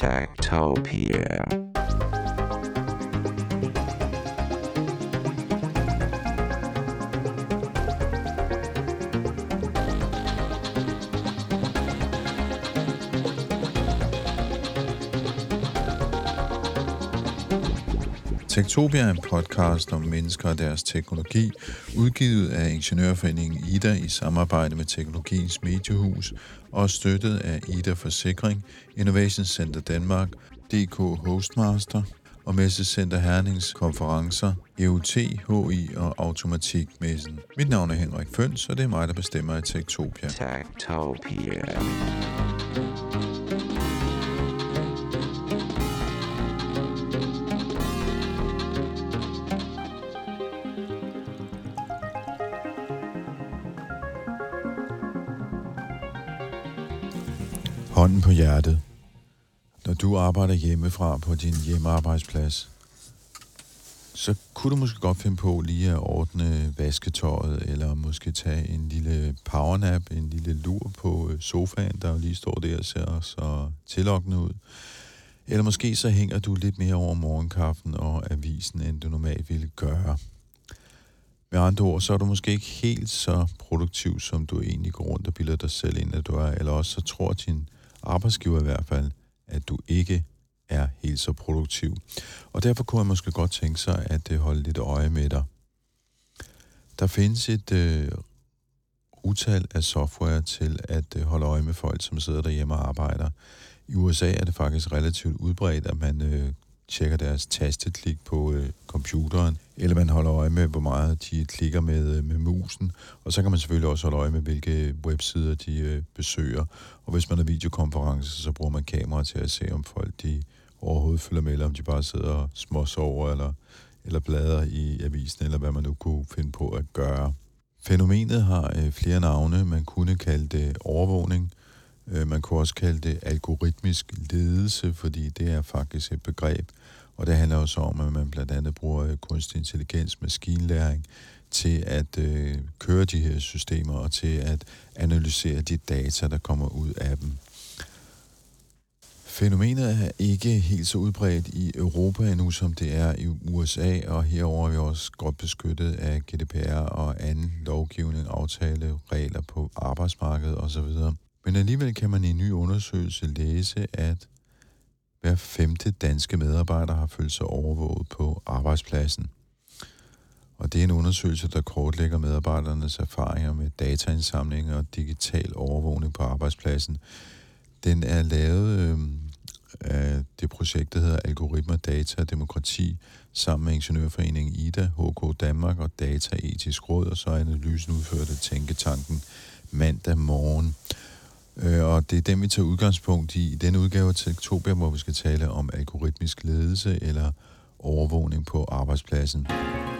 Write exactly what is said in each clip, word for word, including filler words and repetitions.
Techtopia. Techtopia er en podcast om mennesker og deres teknologi, udgivet af Ingeniørforeningen Ida i samarbejde med Teknologiens Mediehus og støttet af Ida Forsikring, Innovation Center Danmark, D K Hostmaster og Messecenter Hernings konferencer, E U T, H I og Automatikmessen. Mit navn er Henrik Føns, og det er mig, der bestemmer i Techtopia. Techtopia. Hånden på hjertet. Når du arbejder hjemmefra på din hjemmearbejdsplads, så kunne du måske godt finde på lige at ordne vasketøjet, eller måske tage en lille powernap, en lille lur på sofaen, der lige står der og ser så tillokkende ud. Eller måske så hænger du lidt mere over morgenkaffen og avisen, end du normalt ville gøre. Med andre ord, så er du måske ikke helt så produktiv, som du egentlig går rundt og bilder dig selv ind, at du er. Eller også så tror din arbejdsgiver i hvert fald, at du ikke er helt så produktiv. Og derfor kunne jeg måske godt tænke sig at holde lidt øje med dig. Der findes et øh, utal af software til at øh, holde øje med folk, som sidder derhjemme og arbejder. I U S A er det faktisk relativt udbredt, at man øh, tjekker deres tasteklik på øh, computeren, eller man holder øje med, hvor meget de klikker med, øh, med musen, og så kan man selvfølgelig også holde øje med, hvilke websider de øh, besøger. Og hvis man har videokonferencer, så bruger man kamera til at se, om folk de overhovedet følger med, eller om de bare sidder og småsover, eller, eller bladrer i avisen, eller hvad man nu kunne finde på at gøre. Fænomenet har øh, flere navne. Man kunne kalde det overvågning. Man kunne også kalde det algoritmisk ledelse, fordi det er faktisk et begreb, og det handler også om, at man blandt andet bruger kunstig intelligens, maskinlæring, til at øh, køre de her systemer og til at analysere de data, der kommer ud af dem. Fænomenet er ikke helt så udbredt i Europa endnu, som det er i U S A, og herover er vi også godt beskyttet af G D P R og anden lovgivning, aftale, regler på arbejdsmarkedet osv. Men alligevel kan man i en ny undersøgelse læse, at hver femte danske medarbejder har følt sig overvåget på arbejdspladsen. Og det er en undersøgelse, der kortlægger medarbejdernes erfaringer med dataindsamling og digital overvågning på arbejdspladsen. Den er lavet øh, af det projekt, der hedder Algoritmer, Data og Demokrati, sammen med Ingeniørforeningen Ida, H K Danmark og Dataetisk Råd, og så er analysen udført af Tænketanken mandag morgen. Og det er dem, vi tager udgangspunkt i. I denne udgave af Techtopia, hvor vi skal tale om algoritmisk ledelse eller overvågning på arbejdspladsen.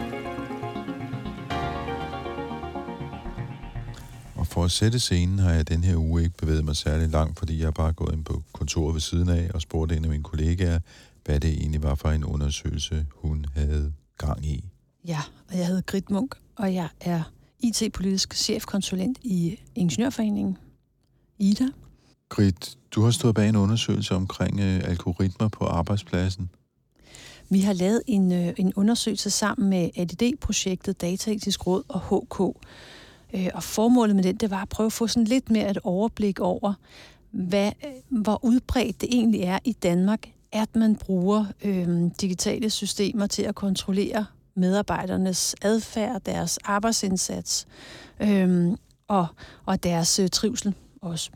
Og for at sætte scenen har jeg den her uge ikke bevæget mig særlig langt, fordi jeg har bare gået ind på kontoret ved siden af og spurgte en af mine kollegaer, hvad det egentlig var for en undersøgelse, hun havde gang i. Ja, og jeg hedder Grit Munk, og jeg er I T-politisk chefkonsulent i Ingeniørforeningen Ida. Grit, du har stået bag en undersøgelse omkring øh, algoritmer på arbejdspladsen. Vi har lavet en, øh, en undersøgelse sammen med A D D-projektet, Dataetisk Råd og H K. Øh, og formålet med den, det var at prøve at få sådan lidt mere et overblik over, hvad, hvor udbredt det egentlig er i Danmark, at man bruger øh, digitale systemer til at kontrollere medarbejdernes adfærd, deres arbejdsindsats øh, og, og deres øh, trivsel også.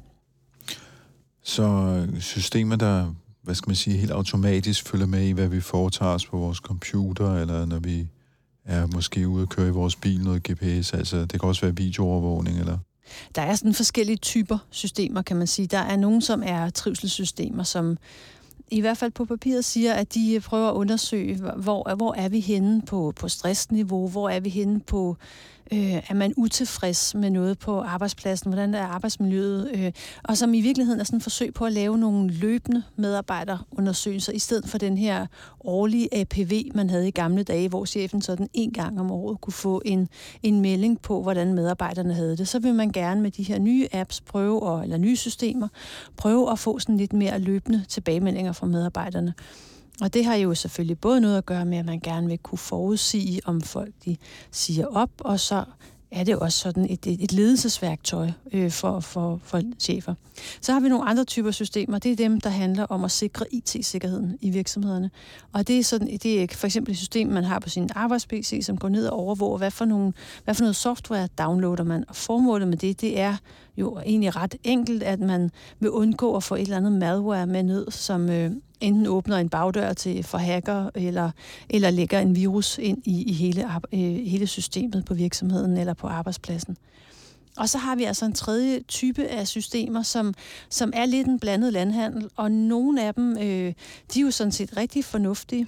Så systemer, der, hvad skal man sige, helt automatisk følger med i, hvad vi foretager os på vores computer, eller når vi er måske ude at køre i vores bil noget G P S, altså det kan også være videoovervågning, eller? Der er sådan forskellige typer systemer, kan man sige. Der er nogle, som er trivselssystemer, som i hvert fald på papiret siger, at de prøver at undersøge, hvor, hvor er vi henne på, på stressniveau, hvor er vi henne på Øh, er man utilfreds med noget på arbejdspladsen? Hvordan er arbejdsmiljøet? Øh, og som i virkeligheden er sådan et forsøg på at lave nogle løbende medarbejderundersøgelser, i stedet for den her årlige A P V, man havde i gamle dage, hvor chefen sådan en gang om året kunne få en, en melding på, hvordan medarbejderne havde det. Så vil man gerne med de her nye apps prøve, og, eller nye systemer, prøve at få sådan lidt mere løbende tilbagemeldinger fra medarbejderne. Og det har jo selvfølgelig både noget at gøre med, at man gerne vil kunne forudsige, om folk de siger op, og så er det også sådan et, et, et ledelsesværktøj øh, for, for, for chefer. Så har vi nogle andre typer systemer. Det er dem, der handler om at sikre I T-sikkerheden i virksomhederne. Og det er, sådan, det er for eksempel et system, man har på sin arbejds-P C, som går ned og overvåger, hvad for, nogle, hvad for noget software downloader man. Og formålet med det, det er jo egentlig ret enkelt, at man vil undgå at få et eller andet malware med ned, som øh, enten åbner en bagdør til for hacker, eller, eller lægger en virus ind i, i hele, øh, hele systemet på virksomheden eller på arbejdspladsen. Og så har vi altså en tredje type af systemer, som, som er lidt en blandet landhandel, og nogle af dem, øh, de er jo sådan set rigtig fornuftige.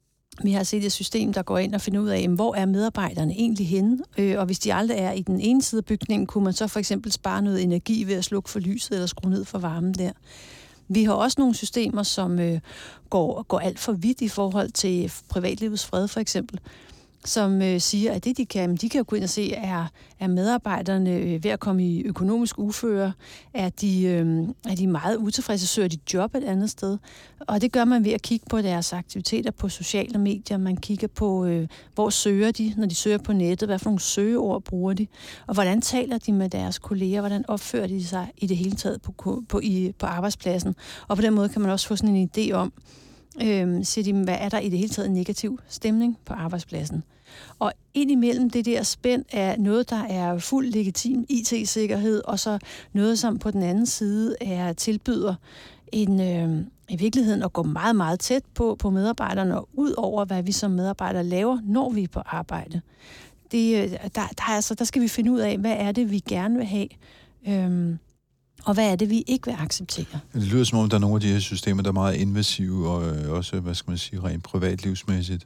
Vi har set et system, der går ind og finder ud af, hvor er medarbejderne egentlig henne, øh, og hvis de aldrig er i den ene side af bygningen, kunne man så for eksempel spare noget energi ved at slukke for lyset eller skrue ned for varmen der. Vi har også nogle systemer, som øh, går, går alt for vidt i forhold til privatlivets fred for eksempel, som øh, siger, at det de kan, de kan jo gå ind og se, er, er medarbejderne øh, ved at komme i økonomisk uføre, er de, øh, er de meget utilfredse, søger de job et andet sted. Og det gør man ved at kigge på deres aktiviteter på sociale medier. Man kigger på, øh, hvor søger de, når de søger på nettet, hvad for nogle søgeord bruger de, og hvordan taler de med deres kolleger, hvordan opfører de sig i det hele taget på, på, i, på arbejdspladsen. Og på den måde kan man også få sådan en idé om, Øhm, siger de, hvad er der i det hele taget en negativ stemning på arbejdspladsen. Og indimellem det der spænd er noget, der er fuld legitim I T-sikkerhed, og så noget, som på den anden side er tilbyder en, øh, i virkeligheden at gå meget, meget tæt på, på medarbejderne, og ud over, hvad vi som medarbejdere laver, når vi er på arbejde. Det, der, der, altså, der skal vi finde ud af, hvad er det, vi gerne vil have, øhm, og hvad er det, vi ikke vil acceptere? Det lyder som om, der er nogle af de her systemer, der er meget invasive, og øh, også, hvad skal man sige, rent privatlivsmæssigt.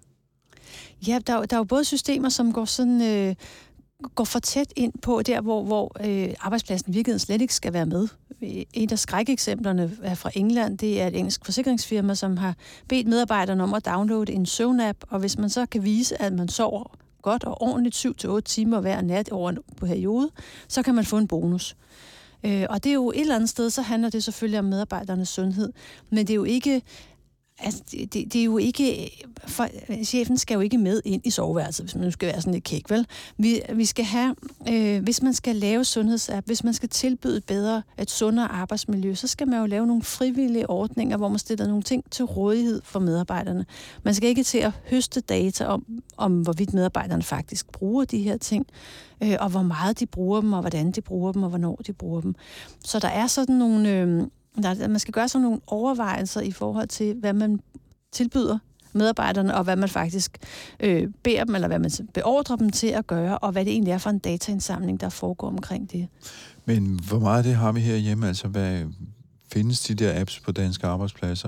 Ja, der, der er jo både systemer, som går sådan øh, går for tæt ind på der, hvor, hvor øh, arbejdspladsen i virkeligheden slet ikke skal være med. Et af skrækeksemplerne er fra England. Det er et engelsk forsikringsfirma, som har bedt medarbejderne om at downloade en søvn-app, og hvis man så kan vise, at man sover godt og ordentligt syv til otte timer hver nat over en periode, så kan man få en bonus. Øh, og det er jo et eller andet sted, så handler det selvfølgelig om medarbejdernes sundhed, men det er jo ikke, altså, det, det, det er jo ikke, for, chefen skal jo ikke med ind i soveværelset, hvis man nu skal være sådan lidt kæk, vel? Vi, vi skal have, øh, hvis man skal lave sundhedsapp, hvis man skal tilbyde bedre, et sundere arbejdsmiljø, så skal man jo lave nogle frivillige ordninger, hvor man stiller nogle ting til rådighed for medarbejderne. Man skal ikke til at høste data om, om hvorvidt medarbejderne faktisk bruger de her ting, øh, og hvor meget de bruger dem, og hvordan de bruger dem, og hvornår de bruger dem. Så der er sådan nogle... Øh, Der, man skal gøre sådan nogle overvejelser i forhold til, hvad man tilbyder medarbejderne, og hvad man faktisk øh, beder dem, eller hvad man beordrer dem til at gøre, og hvad det egentlig er for en dataindsamling, der foregår omkring det. Men hvor meget af det har vi herhjemme? Altså, hvad findes de der apps på danske arbejdspladser?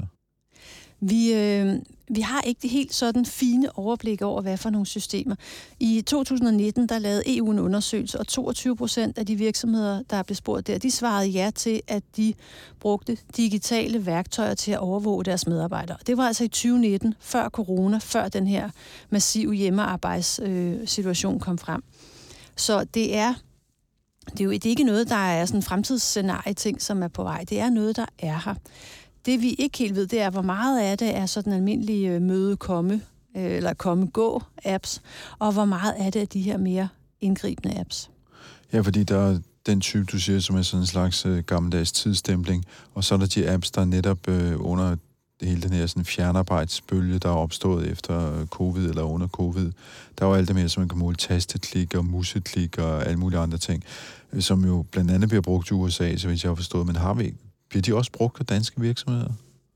Vi, øh, vi har ikke det helt sådan fine overblik over, hvad for nogle systemer. I to tusind og nitten, der lavede E U en undersøgelse, og toogtyve procent af de virksomheder, der blev spurgt der, de svarede ja til, at de brugte digitale værktøjer til at overvåge deres medarbejdere. Det var altså i tyve nitten, før corona, før den her massive hjemmearbejdssituation kom frem. Så det er, det er jo det er ikke noget, der er sådan en fremtidsscenarie-ting, som er på vej. Det er noget, der er her. Det vi ikke helt ved, det er, hvor meget af det er sådan almindelige møde-komme, eller komme-gå-apps, og hvor meget af det er de her mere indgribende apps. Ja, fordi der er den type, du siger, som er sådan en slags øh, gammeldags tidsstempling, og så er der de apps, der netop øh, under det hele den her sådan fjernarbejdsbølge, der er opstået efter covid eller under covid. Der er jo alt det mere, som man kan måle tasteklik og museklik og alle mulige andre ting, øh, som jo blandt andet bliver brugt i U S A, så vidt jeg har forstået, men har vi ikke? Bliver de også brugt af danske virksomheder?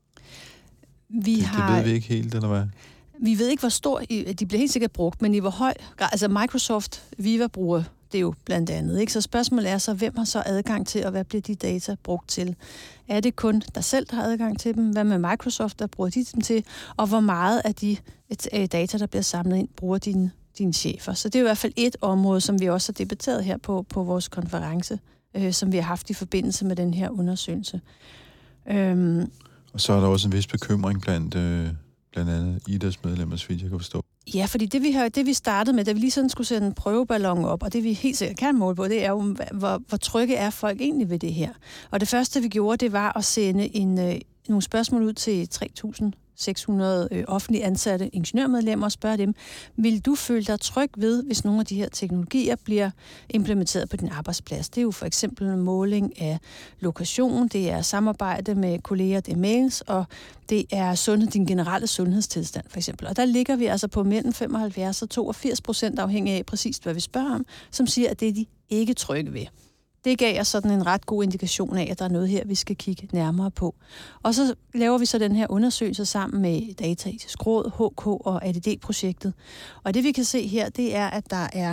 Vi det, har, det ved vi ikke helt, eller hvad? Vi ved ikke, hvor stor... De bliver helt sikkert brugt, men i hvor høj... Altså Microsoft Viva bruger det jo blandt andet, ikke? Så spørgsmålet er så, hvem har så adgang til, og hvad bliver de data brugt til? Er det kun dig selv, der har adgang til dem? Hvad med Microsoft, der bruger de dem til? Og hvor meget af de data, der bliver samlet ind, bruger dine, dine chefer. Så det er i hvert fald et område, som vi også har debatteret her på, på vores konference, øh, som vi har haft i forbindelse med den her undersøgelse. Øhm, og så er der også en vis bekymring blandt, øh, blandt andet I D A S medlemmer, så vidt jeg kan forstå. Ja, fordi det vi, har, det vi startede med, da vi lige sådan skulle sætte en prøveballon op, og det vi helt sikkert kan måle på, det er jo, hvor, hvor trygge er folk egentlig ved det her. Og det første vi gjorde, det var at sende en, øh, nogle spørgsmål ud til tre tusind seks hundrede øh, offentligt ansatte ingeniørmedlemmer og spørge dem, vil du føle dig tryg ved, hvis nogle af de her teknologier bliver implementeret på din arbejdsplads? Det er jo for eksempel en måling af lokation, det er samarbejde med kolleger, det er mails, og det er sundhed, din generelle sundhedstilstand for eksempel. Og der ligger vi altså på mellem femoghalvfjerds og toogfirs procent afhængig af præcis, hvad vi spørger om, som siger, at det er de ikke trygge ved. Det gav os sådan en ret god indikation af, at der er noget her, vi skal kigge nærmere på. Og så laver vi så den her undersøgelse sammen med Dataetisk Råd, H K og A D D-projektet. Og det vi kan se her, det er, at der er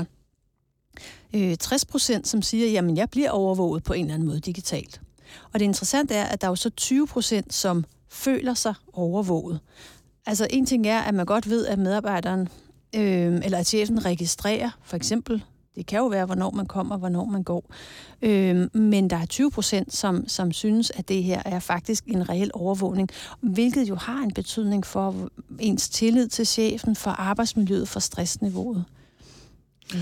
øh, tres procent, som siger, jamen jeg bliver overvåget på en eller anden måde digitalt. Og det interessante er, at der er jo så tyve procent, som føler sig overvåget. Altså en ting er, at man godt ved, at medarbejderen øh, eller at chefen registrerer, for eksempel. Det kan jo være, hvornår man kommer, hvornår man går. Øhm, men der er tyve procent, som, som synes, at det her er faktisk en reel overvågning, hvilket jo har en betydning for ens tillid til chefen, for arbejdsmiljøet, for stressniveauet. Mm.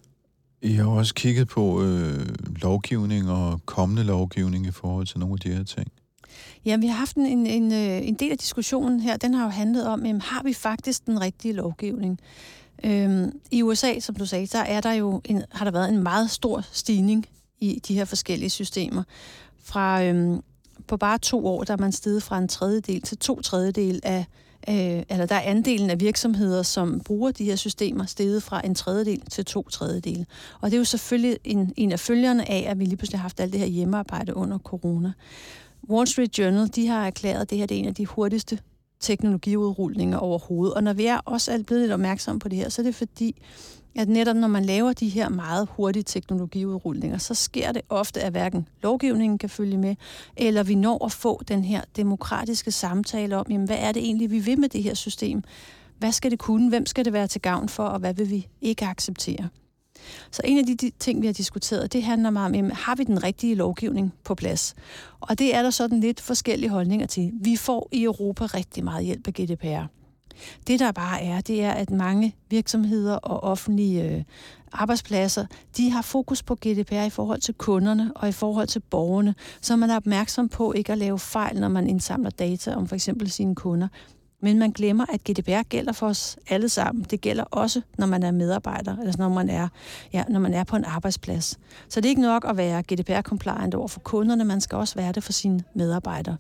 I har også kigget på øh, lovgivning og kommende lovgivning i forhold til nogle af de her ting. Ja, vi har haft en, en, en, en del af diskussionen her, den har jo handlet om, jamen, har vi faktisk den rigtige lovgivning? Øhm, I U S A, som du sagde, der er der jo en, har der været en meget stor stigning i de her forskellige systemer. Fra øhm, på bare to år, der er man steget fra en tredjedel til to tredjedel af, øh, eller der er andelen af virksomheder, som bruger de her systemer, steget fra en tredjedel til to tredjedel. Og det er jo selvfølgelig en, en af følgerne af, at vi lige pludselig har haft alt det her hjemmearbejde under corona. Wall Street Journal, de har erklæret, at det her det er en af de hurtigste teknologiudrulninger overhovedet. Og når vi er også blevet lidt opmærksomme på det her, så er det fordi, at netop når man laver de her meget hurtige teknologiudrulninger, så sker det ofte, at hverken lovgivningen kan følge med, eller vi når at få den her demokratiske samtale om, jamen, hvad er det egentlig, vi vil med det her system? Hvad skal det kunne? Hvem skal det være til gavn for? Og hvad vil vi ikke acceptere? Så en af de, de ting, vi har diskuteret, det handler meget om, jamen, har vi den rigtige lovgivning på plads? Og det er der sådan lidt forskellige holdninger til. Vi får i Europa rigtig meget hjælp af G D P R. Det der bare er, det er, at mange virksomheder og offentlige øh, arbejdspladser, de har fokus på G D P R i forhold til kunderne og i forhold til borgerne, så man er opmærksom på ikke at lave fejl, når man indsamler data om for eksempel sine kunder. Men man glemmer, at G D P R gælder for os alle sammen. Det gælder også, når man er medarbejder, eller når man er, ja, når man er på en arbejdsplads. Så det er ikke nok at være G D P R-compliant over for kunderne, man skal også være det for sine medarbejdere.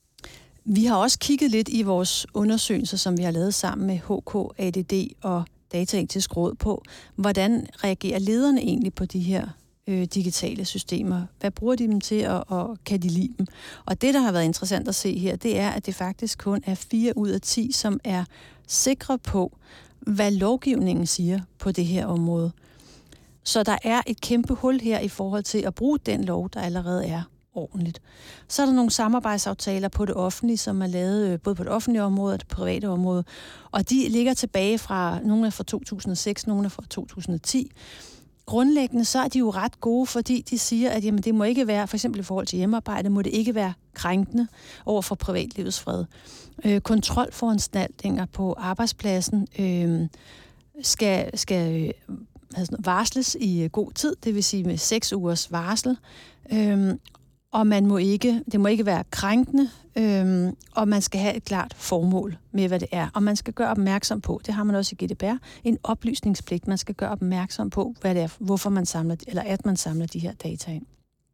Vi har også kigget lidt i vores undersøgelser, som vi har lavet sammen med H K, A D D og Dataetisk Råd på, hvordan reagerer lederne egentlig på de her øh, digitale systemer? Hvad bruger de dem til, og, og kan de lide dem? Og det, der har været interessant at se her, det er, at det faktisk kun er fire ud af ti, som er sikre på, hvad lovgivningen siger på det her område. Så der er et kæmpe hul her i forhold til at bruge den lov, der allerede er ordentligt. Så er der nogle samarbejdsaftaler på det offentlige, som er lavet både på det offentlige område og det private område, og de ligger tilbage fra, nogle er fra to tusind og seks, nogle er fra to tusind og ti. Grundlæggende så er de jo ret gode, fordi de siger, at jamen, det må ikke være, for eksempel i forhold til hjemmearbejde, må det ikke være krænkende over for privatlivets fred. Øh, kontrolforanstaltninger på arbejdspladsen øh, skal, skal øh, varsles i god tid, det vil sige med seks ugers varsel. Øh, og man må ikke, det må ikke være krænkende, øhm, og man skal have et klart formål med, hvad det er. Og man skal gøre opmærksom på, det har man også i G D P R, en oplysningspligt. Man skal gøre opmærksom på, hvad det er, hvorfor man samler, eller at man samler de her data ind.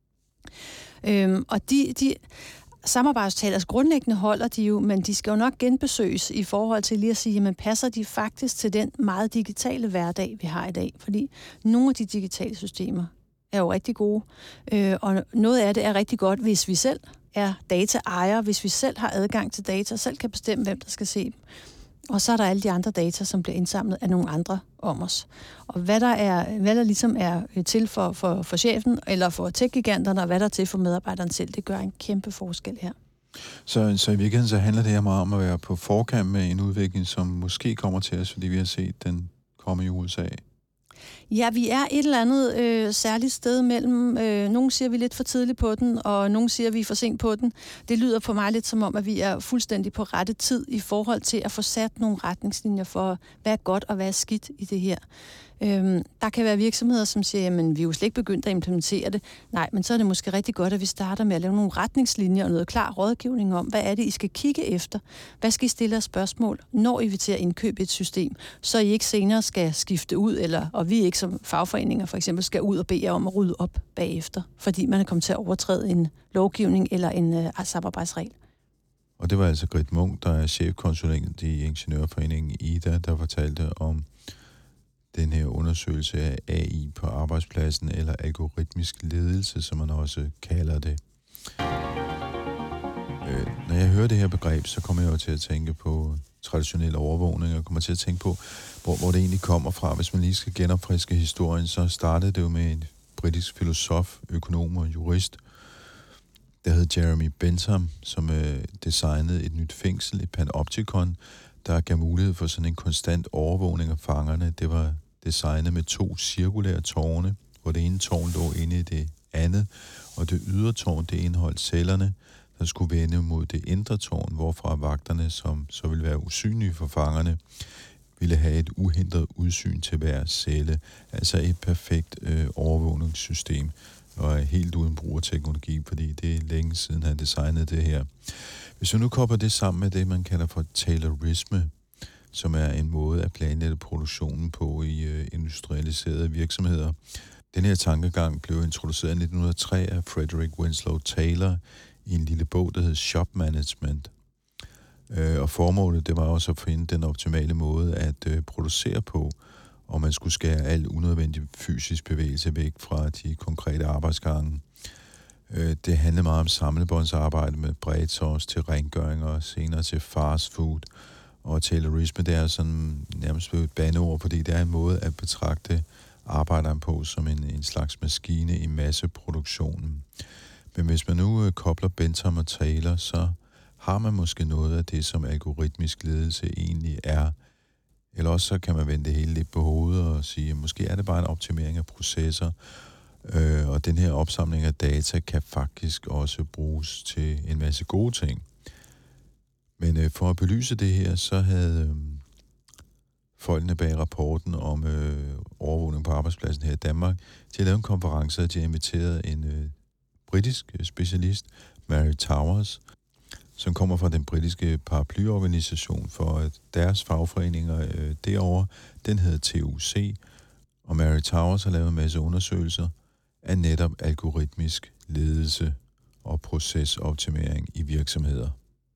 Øhm, og de, de samarbejdstalers grundlæggende holder de jo, men de skal jo nok genbesøges i forhold til lige at sige, jamen passer de faktisk til den meget digitale hverdag, vi har i dag? Fordi nogle af de digitale systemer er jo rigtig gode, øh, og noget af det er rigtig godt, hvis vi selv er dataejere, hvis vi selv har adgang til data, selv kan bestemme, hvem der skal se dem. Og så er der alle de andre data, som bliver indsamlet af nogle andre om os. Og hvad der, er, hvad der ligesom er til for, for, for chefen, eller for tech-giganterne, og hvad der er til for medarbejderen selv, det gør en kæmpe forskel her. Så, så i virkeligheden så handler det her meget om at være på forkant med en udvikling, som måske kommer til os, fordi vi har set den komme i U S A? Ja, vi er et eller andet øh, særligt sted mellem, øh, nogen siger, vi er lidt for tidligt på den, og nogen siger, vi er for sent på den. Det lyder på mig lidt som om, at vi er fuldstændig på rette tid i forhold til at få sat nogle retningslinjer for, hvad er godt og hvad er skidt i det her. Øhm, der kan være virksomheder, som siger, jamen vi er jo slet ikke begyndt at implementere det. Nej, men så er det måske rigtig godt, at vi starter med at lave nogle retningslinjer og noget klar rådgivning om, hvad er det, I skal kigge efter? Hvad skal I stille os spørgsmål, når I vil til at indkøbe et system, så I ikke senere skal skifte ud, eller, og vi ikke som fagforeninger for eksempel skal ud og bede jer om at rydde op bagefter, fordi man er kommet til at overtræde en lovgivning eller en øh, samarbejdsregel. Og det var altså Grit Munk, der er chefkonsulent i Ingeniørforeningen I D A, der fortalte om den her undersøgelse af A I på arbejdspladsen, eller algoritmisk ledelse, som man også kalder det. Øh, når jeg hører det her begreb, så kommer jeg jo til at tænke på traditionel overvågning, og kommer til at tænke på, hvor, hvor det egentlig kommer fra. Hvis man lige skal genopfriske historien, så startede det jo med en britisk filosof, økonom og jurist, der hed Jeremy Bentham, som øh, designede et nyt fængsel, et panoptikon, der gav mulighed for sådan en konstant overvågning af fangerne. Det var designet med to cirkulære tårne, hvor det ene tårn lå inde i det andet, og det ydre tårn, det indeholdt cellerne, der skulle vende mod det indre tårn, hvorfra vagterne, som så ville være usynlige for fangerne, ville have et uhindret udsyn til hver celle. Altså et perfekt øh, overvågningssystem, og helt uden brug af teknologi, fordi det er længe siden, han designede det her. Hvis vi nu kobler det sammen med det, man kalder for Taylorisme, som er en måde at planlægge produktionen på i øh, industrialiserede virksomheder. Den her tankegang blev introduceret i nitten hundrede og tre af Frederick Winslow Taylor i en lille bog, der hed Shop Management. Øh, og formålet, det var også at finde den optimale måde at øh, producere på, og man skulle skære al unødvendig fysisk bevægelse væk fra de konkrete arbejdsgange. Øh, det handlede meget om samlebåndsarbejde med bredt sauce til rengøring og senere til fast food. Og Taylorisme, det er sådan nærmest et bandeord, fordi det er en måde at betragte arbejderen på som en, en slags maskine i masseproduktionen. Men hvis man nu øh, kobler Bentham og Taylor, så har man måske noget af det, som algoritmisk ledelse egentlig er. Eller også så kan man vende det hele lidt på hovedet og sige, at måske er det bare en optimering af processer, øh, og den her opsamling af data kan faktisk også bruges til en masse gode ting. Men øh, for at belyse det her, så havde øh, folkene bag rapporten om øh, overvågning på arbejdspladsen her i Danmark, de har lavet en konference, og de har inviteret en øh, britisk specialist, Mary Towers, som kommer fra den britiske paraplyorganisation for at deres fagforeninger øh, derovre. Den hedder T U C, og Mary Towers har lavet en masse undersøgelser af netop algoritmisk ledelse og procesoptimering i virksomheder.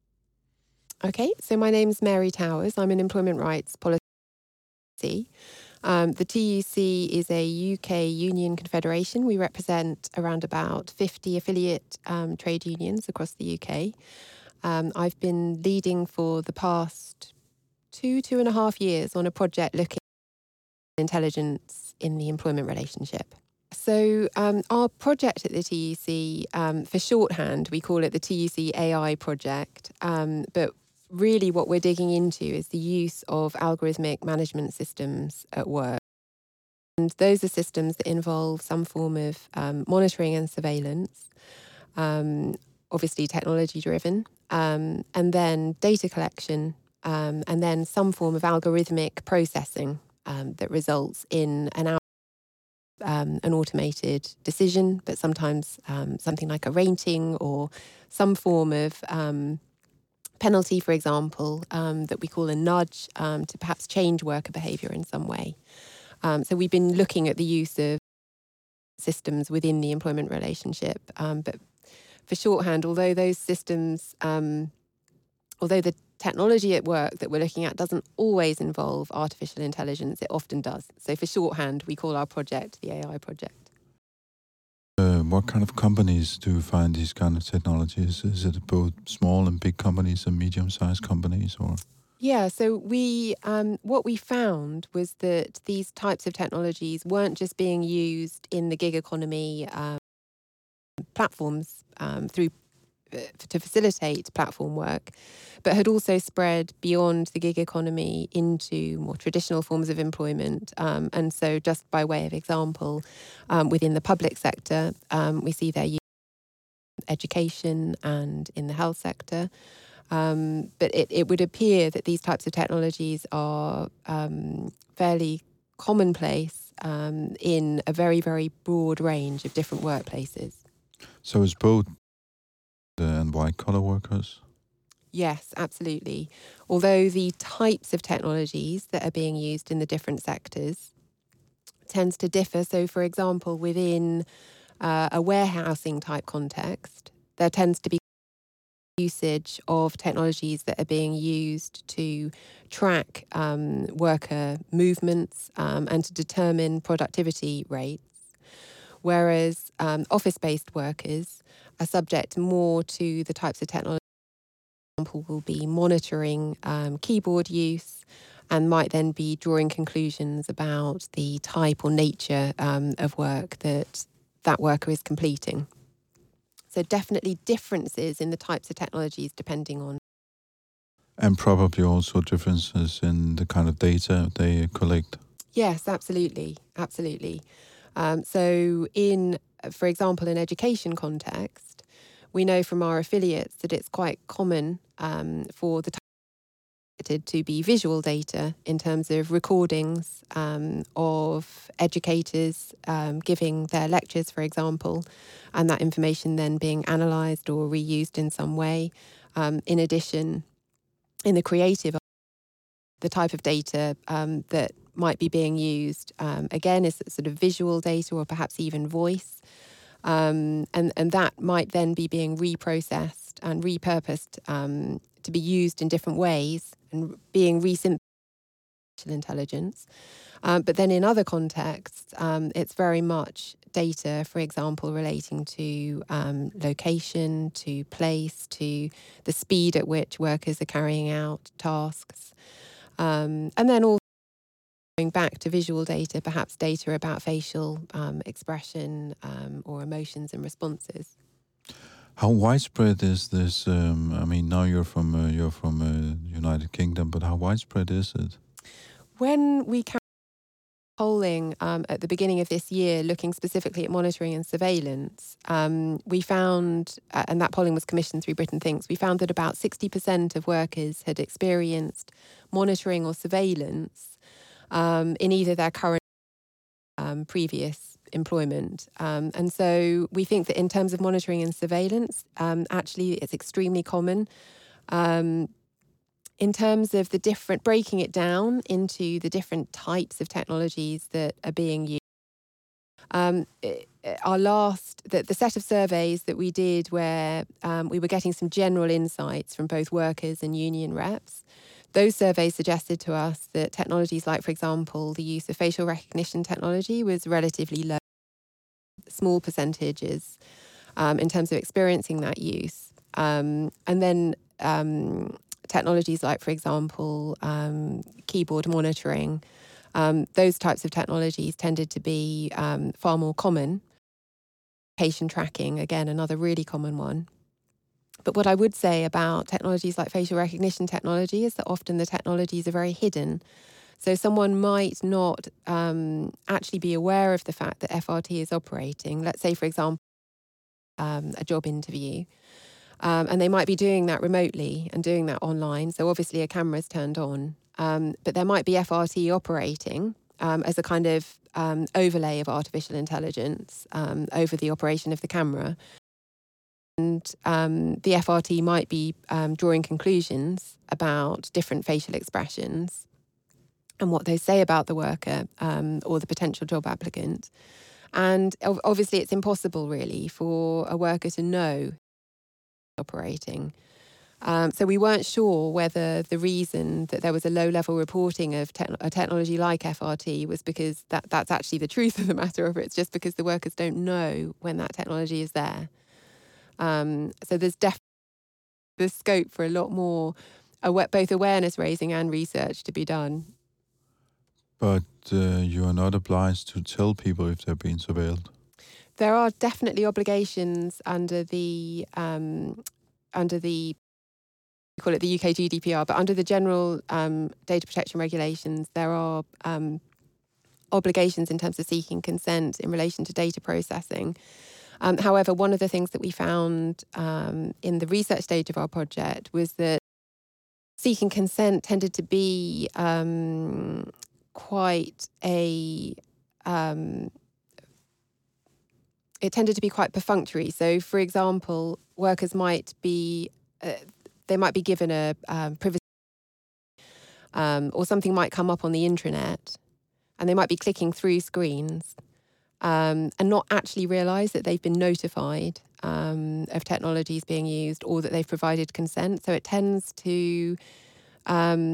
Okay, so my name is Mary Towers. I'm an employment rights policy. Um, the T U C is a U K union confederation. We represent around about fifty affiliate um, trade unions across the U K. Um, I've been leading for the past two, two and a half years on a project looking at intelligence in the employment relationship. So um, our project at the T U C, um, for shorthand, we call it the T U C A I project, um, but really what we're digging into is the use of algorithmic management systems at work. And those are systems that involve some form of um, monitoring and surveillance, um, obviously technology-driven, um, and then data collection, um, and then some form of algorithmic processing um, that results in an Um, an automated decision, but sometimes um, something like a rating or some form of um, penalty, for example, um, that we call a nudge um, to perhaps change worker behaviour in some way. Um, so we've been looking at the use of systems within the employment relationship. Um, but for shorthand, although those systems, um, although the technology at work that we're looking at doesn't always involve artificial intelligence, it often does. So for shorthand, we call our project the A I project. Uh, what kind of companies do you find these kind of technologies? Is it both small and big companies and medium-sized companies, or? Yeah, so we um, what we found was that these types of technologies weren't just being used in the gig economy um, platforms um, through to facilitate platform work, but had also spread beyond the gig economy into more traditional forms of employment. Um, and so just by way of example, um, within the public sector, um, we see their use in education and in the health sector. Um, but it, it would appear that these types of technologies are um, fairly commonplace um, in a very, very broad range of different workplaces. So it's both the and white-collar workers? Yes, absolutely. Although the types of technologies that are being used in the different sectors tends to differ. So, for example, within uh, a warehousing type context, there tends to be usage of technologies that are being used to track um, worker movements um, and to determine productivity rates. Whereas um, office-based workers are subject more to the types of technology. For example, will be monitoring um, keyboard use and might then be drawing conclusions about the type or nature um, of work that that worker is completing. So definitely differences in the types of technologies depending on. And probably also differences in the kind of data they collect. Yes, absolutely, absolutely. Um, so in, for example, in education context, we know from our affiliates that it's quite common um, for the to be visual data in terms of recordings um, of educators um, giving their lectures, for example, and that information then being analysed or reused in some way. Um, in addition, in the creative, the type of data um, that might be being used, um, again, is sort of visual data or perhaps even voice. Um, and, and that might then be being reprocessed and repurposed um, to be used in different ways and being resynthesized intelligence. Um, but then in other contexts, um, it's very much data, for example, relating to um, location, to place, to the speed at which workers are carrying out tasks. Um, and then also going back to visual data, perhaps data about facial um, expression um, or emotions and responses. How widespread is this? Um, I mean, now you're from uh, you're from uh, United Kingdom, but how widespread is it? When we carried polling um, at the beginning of this year, looking specifically at monitoring and surveillance, um, we found, uh, and that polling was commissioned through Britain Thinks, we found that about sixty percent of workers had experienced monitoring or surveillance um, in either their current or um, previous employment. Um, and so we think that in terms of monitoring and surveillance, um, actually it's extremely common. Um, in terms of the different, breaking it down into the different types of technologies that are being used, um, our last, the, the set of surveys that we did where um, we were getting some general insights from both workers and union reps, those surveys suggested to us that technologies like, for example, the use of facial recognition technology was relatively low, small percentages um, in terms of experiencing that use. Um, and then um, technologies like, for example, um, keyboard monitoring, um, those types of technologies tended to be um, far more common. Patient tracking, again, another really common one. But what I would say about technologies like facial recognition technology is that often the technologies are very hidden. So someone might not um, actually be aware of the fact that F R T is operating. Let's say, for example, um, a job interview. Um, and they might be doing that remotely and doing that online. So obviously a camera is turned on. Um, but there might be F R T operating um, as a kind of um, overlay of artificial intelligence um, over the operation of the camera. And um, the F R T might be um, drawing conclusions about different facial expressions and what they say about the worker um, or the potential job applicant. And obviously it's impossible really for a worker to know operating. Um, so we weren't sure whether the reason that there was a low-level reporting of te- a technology like F R T was because that, that's actually the truth of the matter, or it's just because the workers don't know when that technology is there. Um, so there's definitely the scope for a lot more, aw- both awareness raising and research to be done. But uh, you are not obliged to tell people if they're being surveilled. There are definitely obligations under the um, under the, we call it the U K G D P R, but under the general um, data protection regulations, there are um, obligations in terms of seeking consent in relation to data processing. Um, however, one of the things that we found um, in the research stage of our project was that seeking consent tended to be um, quite a, um, it tended to be quite perfunctory. So, for example, workers might be, uh, they might be given a um, privacy, um, or something might come up on the intranet, and they might be clicking through screens um, and not actually realise that they've been notified um, of technologies being used or that they've provided consent. So it tends to, um,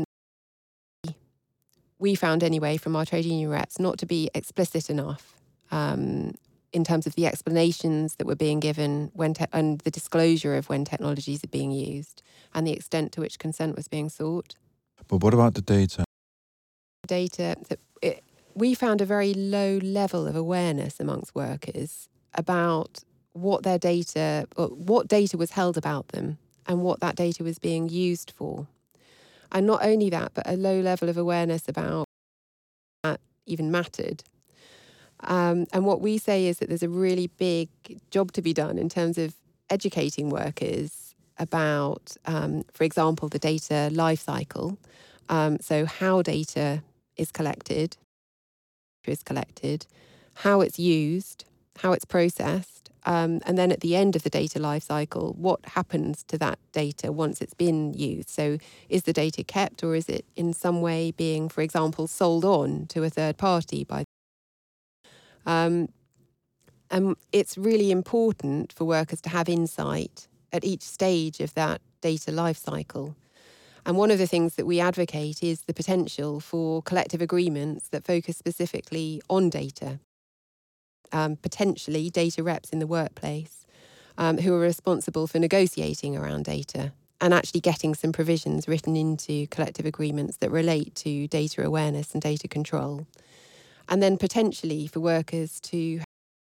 we found anyway from our trade union reps, not to be explicit enough um, in terms of the explanations that were being given when te- and the disclosure of when technologies are being used and the extent to which consent was being sought. But what about the data? Data, it, we found a very low level of awareness amongst workers about what their data, or what data was held about them and what that data was being used for. And not only that, but a low level of awareness about that even mattered. Um, and what we say is that there's a really big job to be done in terms of educating workers about, um, for example, the data life cycle. Um, so how data is collected, is collected, how it's used, how it's processed, um, and then at the end of the data life cycle, what happens to that data once it's been used. So is the data kept, or is it in some way being, for example, sold on to a third party by um, and it's really important for workers to have insight at each stage of that data life cycle. And one of the things that we advocate is the potential for collective agreements that focus specifically on data, um, potentially data reps in the workplace um, who are responsible for negotiating around data and actually getting some provisions written into collective agreements that relate to data awareness and data control. And then potentially for workers to,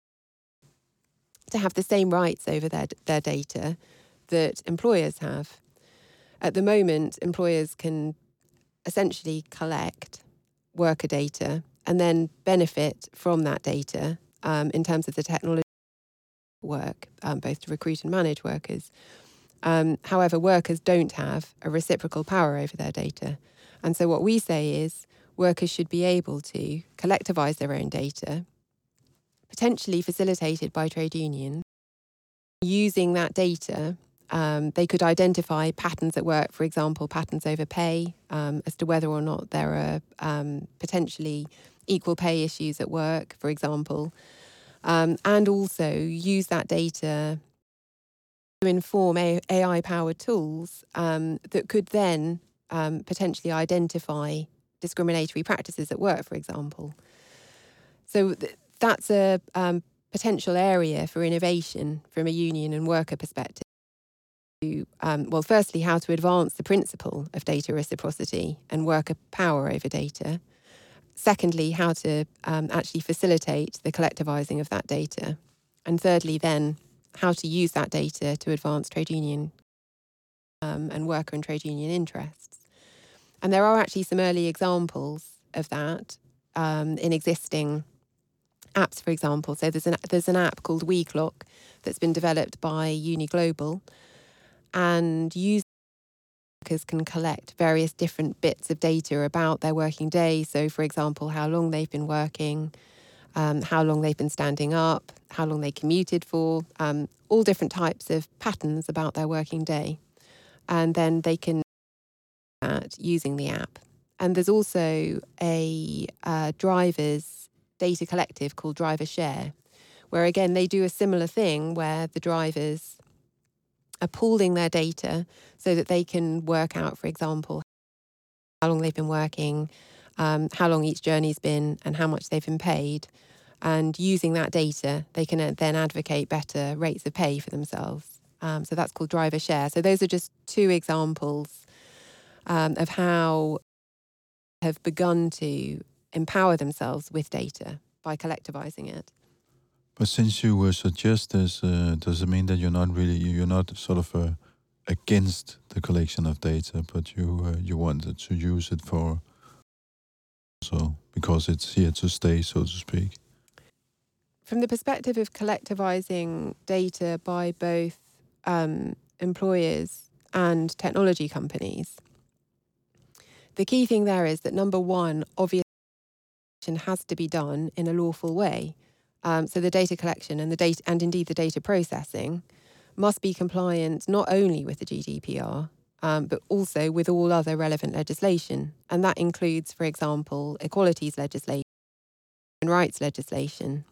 to have the same rights over their, their data that employers have. At the moment, employers can essentially collect worker data and then benefit from that data um, in terms of the technology work, um, both to recruit and manage workers. Um, however, workers don't have a reciprocal power over their data. And so what we say is workers should be able to collectivise their own data, potentially facilitated by trade unions. Using that data, Um, they could identify patterns at work, for example, patterns over pay, um, as to whether or not there are um, potentially equal pay issues at work, for example, um, and also use that data to inform A I-powered tools um, that could then um, potentially identify discriminatory practices at work, for example. So th- that's a um, potential area for innovation from a union and worker perspective. Um, well, firstly, how to advance the principle of data reciprocity and worker power over data. Secondly, how to um, actually facilitate the collectivising of that data. And thirdly, then, how to use that data to advance trade union um, and worker and trade union interests. And there are actually some early examples of that um, in existing apps, for example. So there's an, there's an app called WeClock that's been developed by Uni Global, and users can collect various different bits of data about their working day. So, for example, how long they've been working, um, how long they've been standing up, how long they commuted for, um, all different types of patterns about their working day. And then they can do that using the app. And there's also a uh, driver's data collective called Driver Share, where, again, they do a similar thing where the drivers are pooling their data so that they can work out, for example, how long they've been working, um, how long each journey's been, and how much they've been paid. And using that data, they can then advocate better rates of pay for themselves. Um, so that's called Driver Share. So those are just two examples um, of how have begun to empower themselves with data by collectivizing it. But since you uh, suggest this, uh, does it mean that you're not really, you're not sort of uh, against the collection of data, but you uh, you wanted to use it for so because it's here to stay, so to speak. From the perspective of collectivizing data by both um, employers and technology companies, the key thing there is that number one, obviously, has to be done in a lawful way. Um, so the data collection and the data, and indeed the data processing, must be compliant not only with the G D P R, um, but also with all other relevant legislation. And that includes, for example, equalities legislation and rights legislation.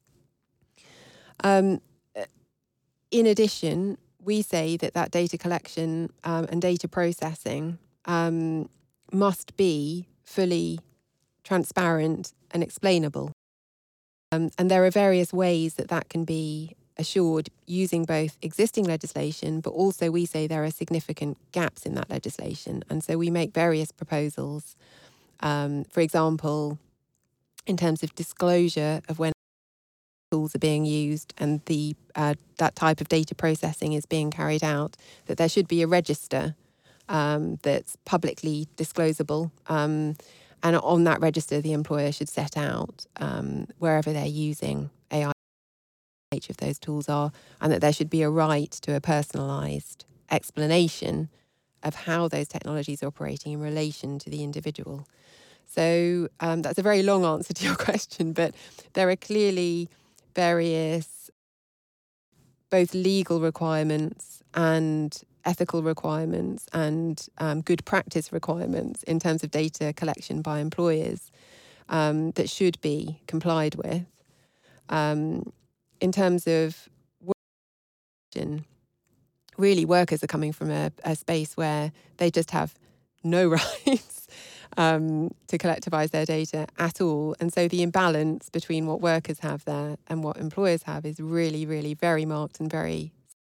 Um, in addition, we say that that data collection um, and data processing um, must be fully transparent and explainable. Um, and there are various ways that that can be assured using both existing legislation, but also we say there are significant gaps in that legislation. And so we make various proposals, um, for example, in terms of disclosure of when tools are being used and the uh, that type of data processing is being carried out, that there should be a register um, that's publicly disclosable. Um, and on that register, the employer should set out um, wherever they're using A I, each of those tools are, and that there should be a right to a personalised explanation of how those technologies are operating in relation to the individual. So um, that's a very long answer to your question, but there are clearly various both legal requirements and ethical requirements and um, good practice requirements in terms of data collection by employers um, that should be complied with. Um, in terms of work, really workers are coming from a, a space where they just have no rights um, to collectivise their data at all. And so the imbalance between what workers have there and what employers have is really, really very marked and very...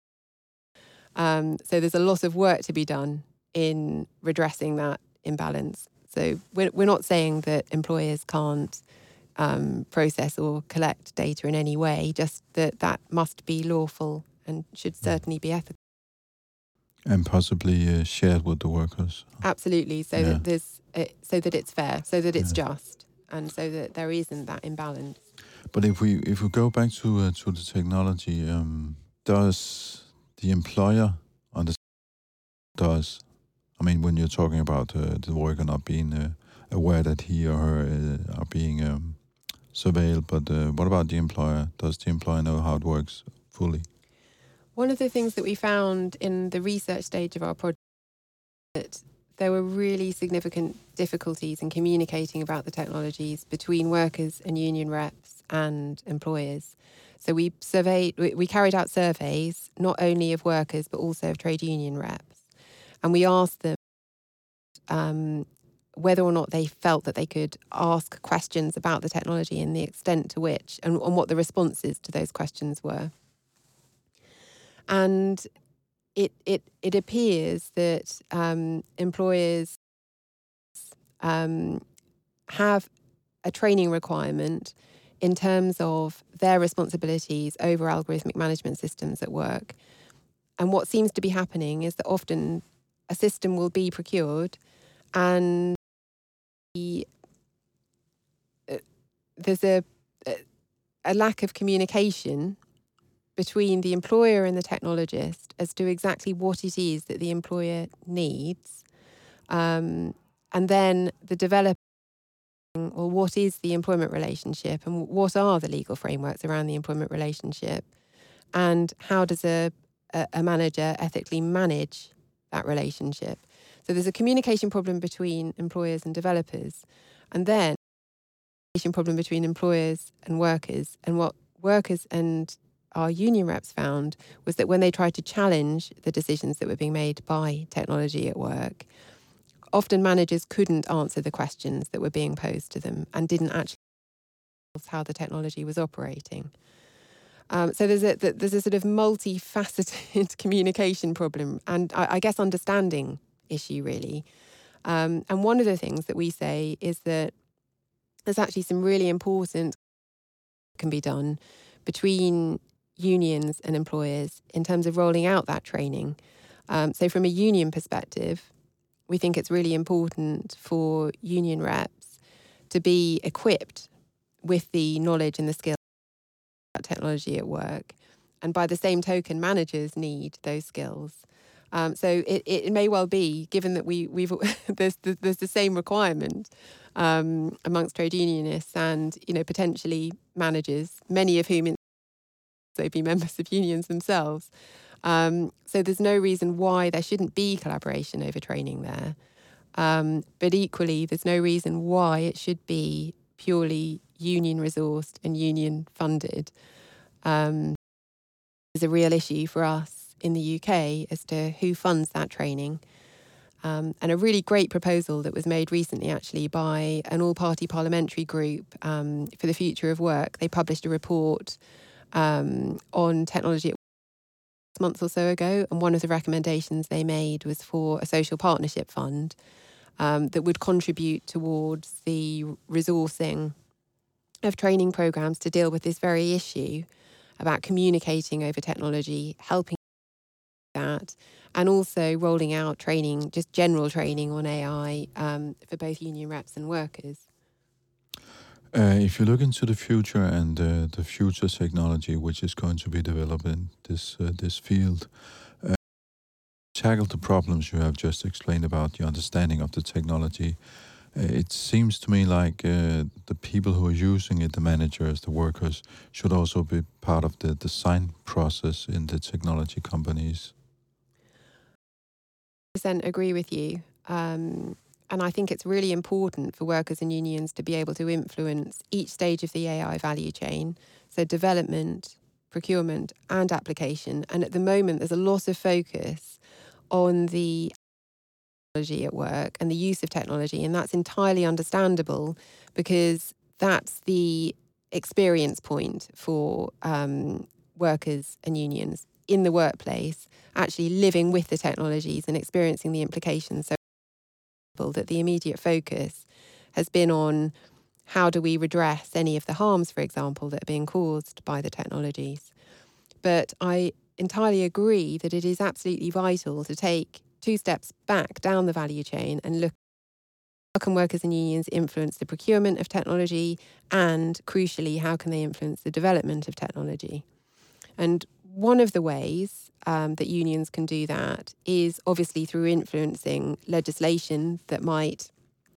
Um, so there's a lot of work to be done in redressing that imbalance. So we're, we're not saying that employers can't um, process or collect data in any way, just that that must be lawful and should certainly be ethical. And possibly uh, shared with the workers. Absolutely, so yeah. that there's, uh, so that it's fair, so that it's yeah. just, and so that there isn't that imbalance. But if we if we go back to uh, to the technology, um, does the employer understand? Does I mean when you're talking about uh, the worker not being uh, aware that he or her uh, are being um, surveilled, but uh, what about the employer? Does the employer know how it works fully? One of the things that we found in the research stage of our project that there were really significant difficulties in communicating about the technologies between workers and union reps and employers. So we surveyed, we, we carried out surveys, not only of workers, but also of trade union reps. And we asked them um, whether or not they felt that they could ask questions about the technology and the extent to which, and, and what the responses to those questions were. And it it it appears that um, employers um, have a training requirement in terms of their responsibilities over algorithmic management systems at work. And what seems to be happening is that often a system will be procured and the, uh, there's a, a lack of communication between the employer and the technologist as to exactly what it is that the employer needs. Um, and then the developer, well, what is the employment relationship and what are the legal frameworks around the employment relationship? And how does a, a, a manager ethically manage that relationship? So there's a communication problem between employers and developers. And then a communication problem between employers and workers. And what workers and our union reps found was that when they tried to challenge the decisions that were being made by technology at work, often managers couldn't answer the questions that were being posed to them and didn't actually know how the technology was operating. Um, so there's a there's a sort of multifaceted communication problem and I, I guess understanding issue really. Um, and one of the things that we say is that there's actually some really important can be done between unions and employers in terms of rolling out that training. Um, so from a union perspective, we think it's really important for union reps to be equipped with the knowledge and the skills about technology at work. And by the same token, managers need those skills. Um, so it, it may well be, given that we, we've there's, there's the same requirement um, amongst trade unionists and, you know, potentially managers, many of whom also be members of unions themselves. Um, so there's no reason why there shouldn't be collaboration over training there. Um, but equally, there's no reason why it should be purely union resourced and union funded. Um, there's a real issue for us in the U K as to who funds that training. Um, and a really great proposal that was made recently, actually, by an all-party parliamentary group um, for the future of work. They published a report um, on technology a month or so ago, and one of the recommendations they made was for a social partnership fund um, that would contribute towards the resourcing of training programs to deal with this very issue about communicating over technology, helping that, and also rolling out training, just general training on A I um, for both union reps and workers. Uh, if you look into the future and uh, the future technology which is going to be developed in this uh, this field, uh, tackle the problems you have just explained about the understanding of the technology, uh, it seems to me like uh, the people who are using it, the managers, the workers, should also be part of the design process in the technology companies. one hundred percent agree with you. Um, and I think it's really important for workers and unions to be able to influence each stage of the A I value chain. So development, procurement and application. And at the moment, there's a lot of focus on the technology at work and the use of technology. And that's entirely understandable because that's the experience point for um, workers and unions in the workplace, actually living with the technologies and experiencing the implications. So that the immediate focus has been on how do we redress any of the harms, for example, that are being caused by the technologies. But I entirely agree that it is absolutely vital to take two steps back down the value chain and look how can workers and unions influence the procurement of technology, and crucially, how can they influence the development of technology? And one of the ways um, that unions can do that is obviously through influencing legislation that might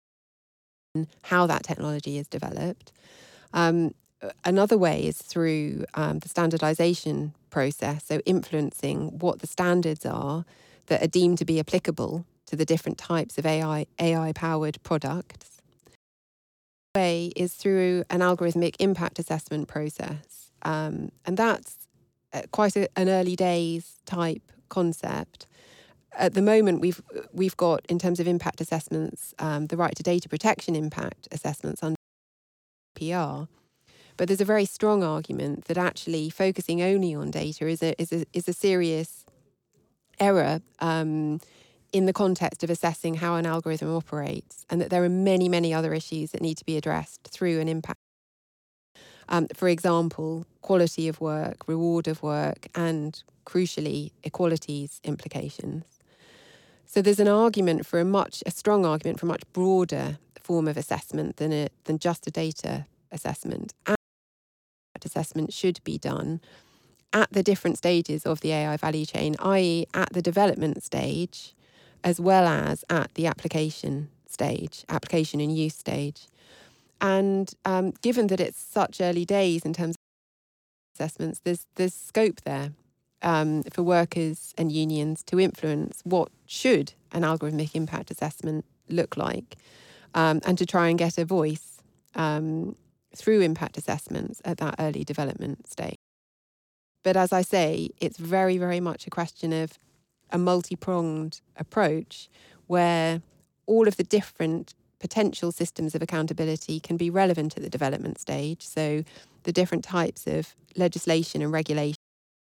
how that technology is developed. Um, another way is through um, the standardization process, so influencing what the standards are that are deemed to be applicable to the different types of A I A I-powered products. The way is through an algorithmic impact assessment process, um, and that's quite a, an early days type concept. At the moment, we've we've got, in terms of impact assessments, um, the right to data protection impact assessments under P R. But there's a very strong argument that actually focusing only on data is a is a is a serious error um, in the context of assessing how an algorithm operates, and that there are many many other issues that need to be addressed through an impact. Um, for example, quality of work, reward of work, and crucially, equalities implications. So there's an argument for a much, a strong argument for a much broader form of assessment than a, than just a data assessment. And that assessment should be done at the different stages of the A I value chain, that is at the development stage, as well as at the application stage, application and use stage. And um, given that it's such early days in terms of assessments, there's there's scope there um, for workers and unions to influence what should an algorithmic impact assessment look like, um, and to try and get a voice um, through impact assessments at that early development stage. But as I say, it's very, very much a question of a multi-pronged approach where all of the different potential systems of accountability can be relevant at the development stage. So the different types of legislation and regulation,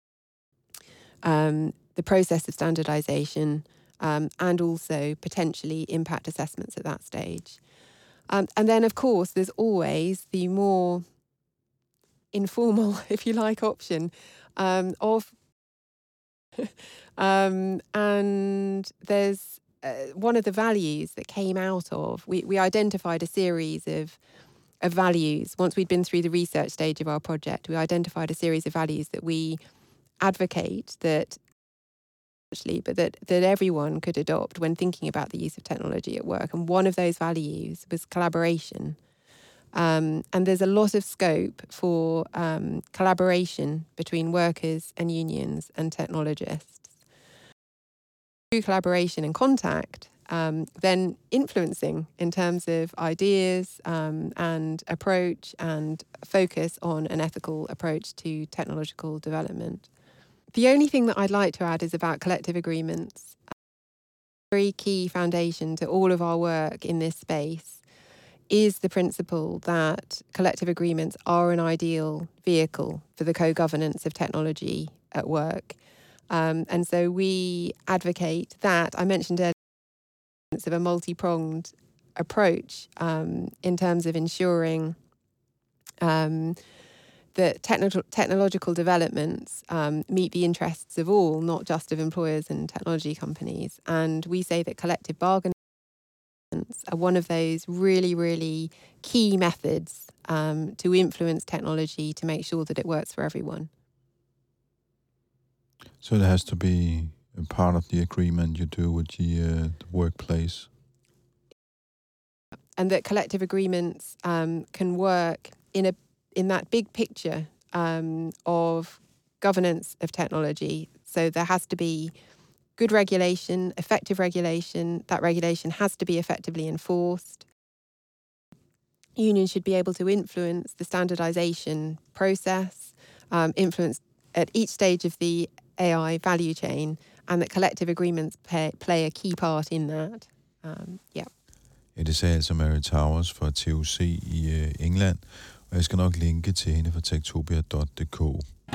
um, the process of standardization, um, and also potentially impact assessments at that stage. Um, and then, of course, there's always the more informal, if you like, option um, of um, and there's uh, one of the values that came out of, we, we identified a series of, of values. Once we'd been through the research stage of our project, we identified a series of values that we advocate that actually, but that, that everyone could adopt when thinking about the use of technology at work. And one of those values was collaboration. Um, and there's a lot of scope for um, collaboration between workers and unions and technologists. Through collaboration and contact, um, then influencing in terms of ideas um, and approach and focus on an ethical approach to technological development. The only thing that I'd like to add is about collective agreements. A very key foundation to all of our work in this space is the principle that collective agreements are an ideal vehicle for the co-governance of technology at work. Um, and so we advocate that. I mentioned earlier of a multi-pronged approach um, in terms of ensuring um, that techno- technological developments um, meet the interests of all, not just of employers and technology companies. And we say that collective bargaining are one of those really, really key methods um, to influence technology to make sure that it works for everyone. So it has to be a part of the agreement you do with the, uh, the workplace. And that collective agreements um, can work in a in that big picture um, of governance of technology. So there has to be good regulation, effective regulation. That regulation has to be effectively enforced. Unions should be able to influence the standardization process, um, influence at each stage of the A I value chain, and that collective agreements play, play a key part in that. Um, yeah. Ja, det sagde altså Mary Towers fra T U C i uh, England, og jeg skal nok linke til hende fra techtopia punktum d k.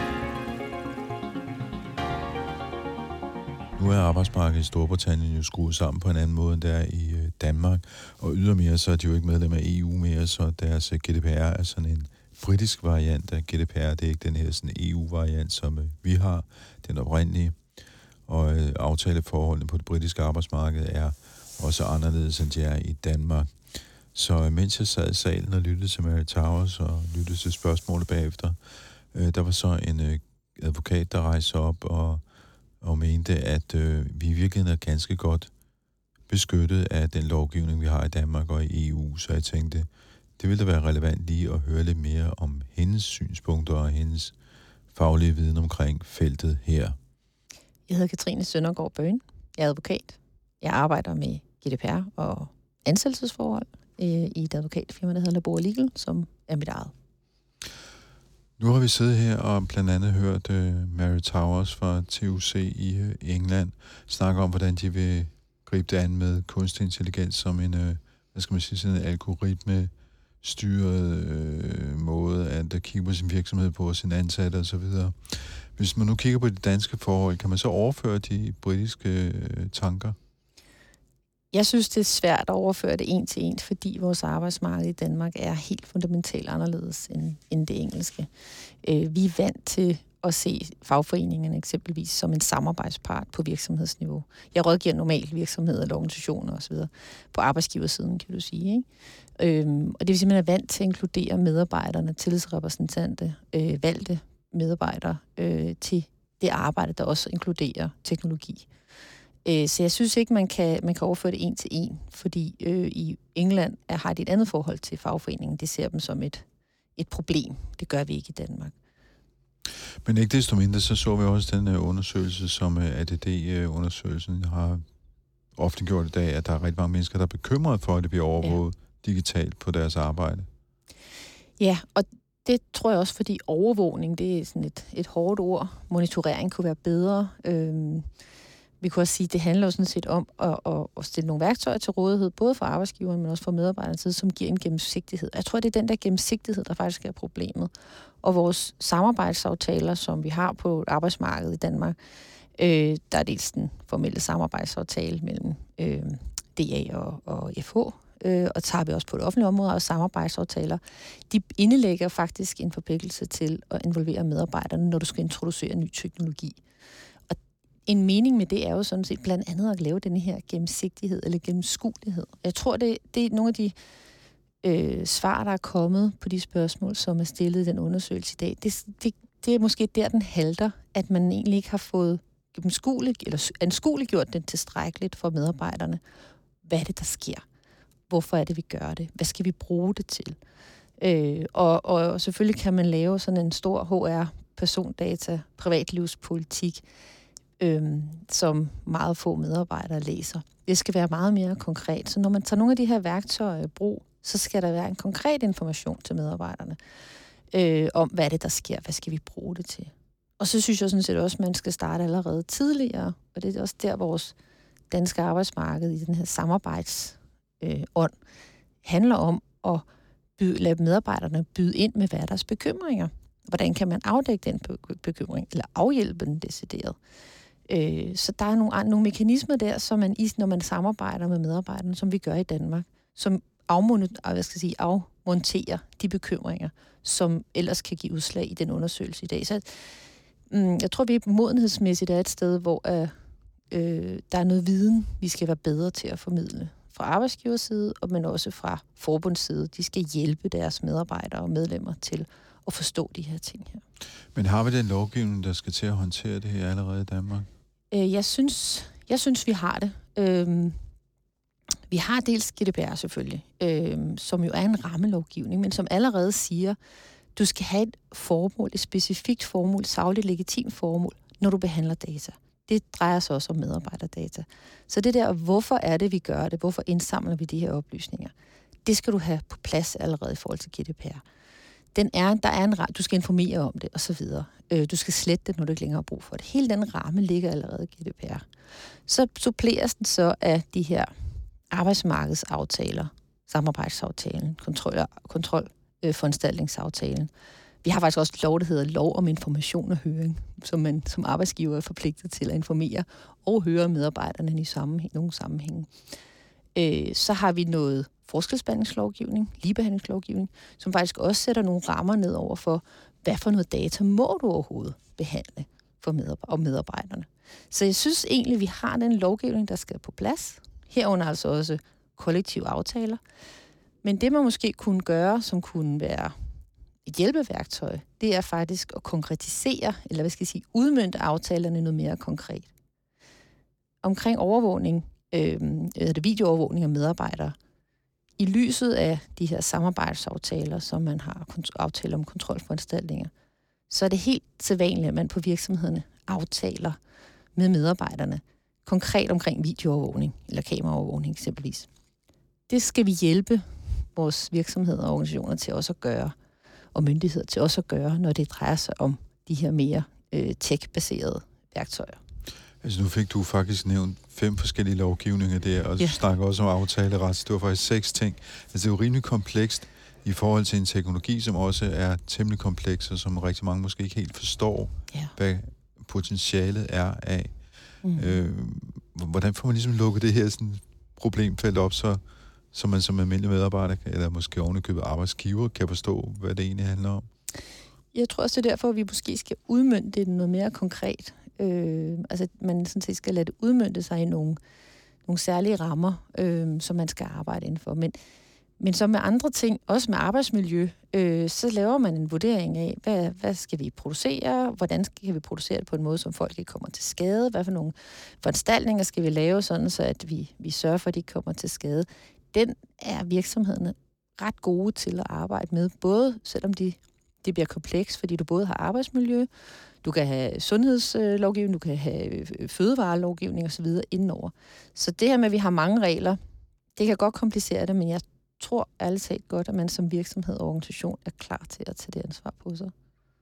Nu er arbejdsmarkedet i Storbritannien jo skruet sammen på en anden måde, end det er i uh, Danmark, og ydermere så er de jo ikke medlem af E U mere, så deres uh, G D P R er sådan en britisk variant af G D P R. Det er ikke den her sådan E U-variant, som uh, vi har, den oprindelige, og uh, aftaleforholdene på det britiske arbejdsmarked er også anderledes, end de er i Danmark. Så mens jeg sad i salen og lyttede til Mary Towers og lyttede til spørgsmålet bagefter, øh, der var så en øh, advokat, der rejste op og, og mente, at øh, vi i virkeligheden er ganske godt beskyttet af den lovgivning, vi har i Danmark og i E U. Så jeg tænkte, det ville da være relevant lige at høre lidt mere om hendes synspunkter og hendes faglige viden omkring feltet her. Jeg hedder Katrine Søndergaard Bøgen. Jeg er advokat. Jeg arbejder med G D P R og ansættelsesforhold øh, i et advokatfirma, der hedder Labor Legal, som er mit eget. Nu har vi siddet her og blandt andet hørt uh, Mary Towers fra T U C i uh, England snakke om, hvordan de vil gribe det an med kunstig intelligens som en, uh, hvad skal man sige, sådan en algoritme styret uh, måde at uh, kigge på sin virksomhed på, sin ansatte og så videre. Hvis man nu kigger på de danske forhold, kan man så overføre de britiske uh, tanker? Jeg synes, det er svært at overføre det en til en, fordi vores arbejdsmarked i Danmark er helt fundamentalt anderledes end, end det engelske. Øh, vi er vant til at se fagforeningerne eksempelvis som en samarbejdspart på virksomhedsniveau. Jeg rådgiver normalt virksomheder eller organisationer osv. på arbejdsgiversiden, kan du sige. Ikke? Øhm, og det vil sige, at man er vant til at inkludere medarbejderne, tillidsrepræsentante, øh, valgte medarbejdere øh, til det arbejde, der også inkluderer teknologi. Så jeg synes ikke, man kan, man kan overføre det en til en, fordi øh, i England er, har de et andet forhold til fagforeningen. De ser dem som et, et problem. Det gør vi ikke i Danmark. Men ikke desto mindre, så så vi også den uh, undersøgelse, som uh, A D D-undersøgelsen har ofte gjort i dag, at der er rigtig mange mennesker, der er bekymrede for, at det bliver overvåget ja. digitalt på deres arbejde. Ja, og det tror jeg også, fordi overvågning, det er sådan et, et hårdt ord. Monitorering kunne være bedre. Øhm, Vi kunne også sige, at det handler jo sådan set om at, at, at stille nogle værktøjer til rådighed, både for arbejdsgiveren, men også for medarbejdernes side, som giver en gennemsigtighed. Jeg tror, det er den der gennemsigtighed, der faktisk er problemet. Og vores samarbejdsaftaler, som vi har på arbejdsmarkedet i Danmark, øh, der er dels den formelle samarbejdsaftale mellem øh, D A og, og F H, øh, og tager vi også på det offentlige område, og samarbejdsaftaler, de indelægger faktisk en forpligtelse til at involvere medarbejderne, når du skal introducere ny teknologi. en mening med det er jo sådan set blandt andet at lave den her gennemsigtighed eller gennemskuelighed. Jeg tror, det, det er nogle af de øh, svar, der er kommet på de spørgsmål, som er stillet i den undersøgelse i dag. Det, det, det er måske der, den halter, at man egentlig ikke har fået gennemskueligt eller anskueliggjort den tilstrækkeligt for medarbejderne. Hvad er det, der sker? Hvorfor er det, vi gør det? Hvad skal vi bruge det til? Øh, og, og selvfølgelig kan man lave sådan en stor H R, persondata, privatlivspolitik, øh, som meget få medarbejdere læser. Det skal være meget mere konkret. Så når man tager nogle af de her værktøjer i brug, så skal der være en konkret information til medarbejderne øh, om, hvad er det, der sker? Hvad skal vi bruge det til? Og så synes jeg sådan set også, at man skal starte allerede tidligere, og det er også der, vores danske arbejdsmarked i den her samarbejdsånd øh, handler om at byde, lade medarbejderne byde ind med hverdags bekymringer. Hvordan kan man afdække den bekymring, eller afhjælpe den decideret? Øh, så der er nogle, nogle mekanismer der, som man, når man samarbejder med medarbejderne, som vi gør i Danmark, som afmonterer, hvad skal jeg sige, afmonterer de bekymringer, som ellers kan give udslag i den undersøgelse i dag. Så mm, jeg tror, vi modenhedsmæssigt er et sted, hvor øh, øh, der er noget viden, vi skal være bedre til at formidle fra arbejdsgivers side, men også fra forbunds side. De skal hjælpe deres medarbejdere og medlemmer til at forstå de her ting her. Men har vi den lovgivning, der skal til at håndtere det her allerede i Danmark? Øh, jeg synes, jeg synes, vi har det. Øh, vi har dels G D P R selvfølgelig, øh, som jo er en rammelovgivning, men som allerede siger, du skal have et formål, et specifikt formål, sagligt legitimt formål, når du behandler data. Det drejer sig også om medarbejderdata. Så det der, hvorfor er det, vi gør det? Hvorfor indsamler vi de her oplysninger? Det skal du have på plads allerede i forhold til G D P R. Den er, der er en, du skal informere om det, og så videre. Øh, du skal slette det, når du ikke længere har brug for det. Hele den ramme ligger allerede i G D P R. Så suppleres den så af de her arbejdsmarkedsaftaler, samarbejdsaftalen, kontrol, kontrol øh, foranstaltningsaftalen. Vi har faktisk også et lov, der hedder lov om information og høring, som man som arbejdsgiver er forpligtet til at informere og høre medarbejderne i sammenhæng, nogle sammenhænge. Øh, så har vi noget forskelsbehandlingslovgivning, ligebehandlingslovgivning, som faktisk også sætter nogle rammer ned over for, hvad for noget data må du overhovedet behandle for medarbej- og medarbejderne. Så jeg synes egentlig, vi har den lovgivning, der skal på plads. Herunder altså også kollektive aftaler. Men det, man måske kunne gøre, som kunne være et hjælpeværktøj, det er faktisk at konkretisere, eller hvad skal jeg sige, udmønte aftalerne noget mere konkret. Omkring overvågning, øh, det videoovervågning af medarbejdere, i lyset af de her samarbejdsaftaler, som man har aftaler om kontrolforanstaltninger, så er det helt sædvanligt, at man på virksomhederne aftaler med medarbejderne konkret omkring videoovervågning, eller kameraovervågning eksempelvis. Det skal vi hjælpe vores virksomheder og organisationer til også at gøre, og myndigheder til også at gøre, når det drejer sig om de her mere øh, tech-baserede værktøjer. Altså nu fik du faktisk nævnt fem forskellige lovgivninger der, og du ja. snakker også om aftaleret. Det var faktisk seks ting. Altså det er jo rimelig komplekst i forhold til en teknologi, som også er temmelig kompleks, og som rigtig mange måske ikke helt forstår, ja. hvad potentialet er af. Mm. Øh, hvordan får man ligesom lukket det her sådan problemfelt op, så, så man som almindelig medarbejder, eller måske ovenikøbet arbejdsgiver, kan forstå, hvad det egentlig handler om? Jeg tror også, det er derfor, at vi måske skal udmønte det noget mere konkret. Øh, altså, man sådan set skal lade det udmønte sig i nogle, nogle særlige rammer, øh, som man skal arbejde indenfor. Men, men så med andre ting, også med arbejdsmiljø, øh, så laver man en vurdering af, hvad, hvad skal vi producere, hvordan kan vi producere det på en måde, som folk ikke kommer til skade, hvad for nogle foranstaltninger skal vi lave, sådan så at vi, vi sørger for, at de ikke kommer til skade. Den er virksomhederne ret gode til at arbejde med, både selvom de det bliver kompleks, fordi du både har arbejdsmiljø, du kan have sundhedslovgivning, du kan have fødevarelovgivning osv. indenover. Så det her med, at vi har mange regler, det kan godt komplicere det, men jeg tror ærligt talt godt, at man som virksomhed og organisation er klar til at tage det ansvar på sig.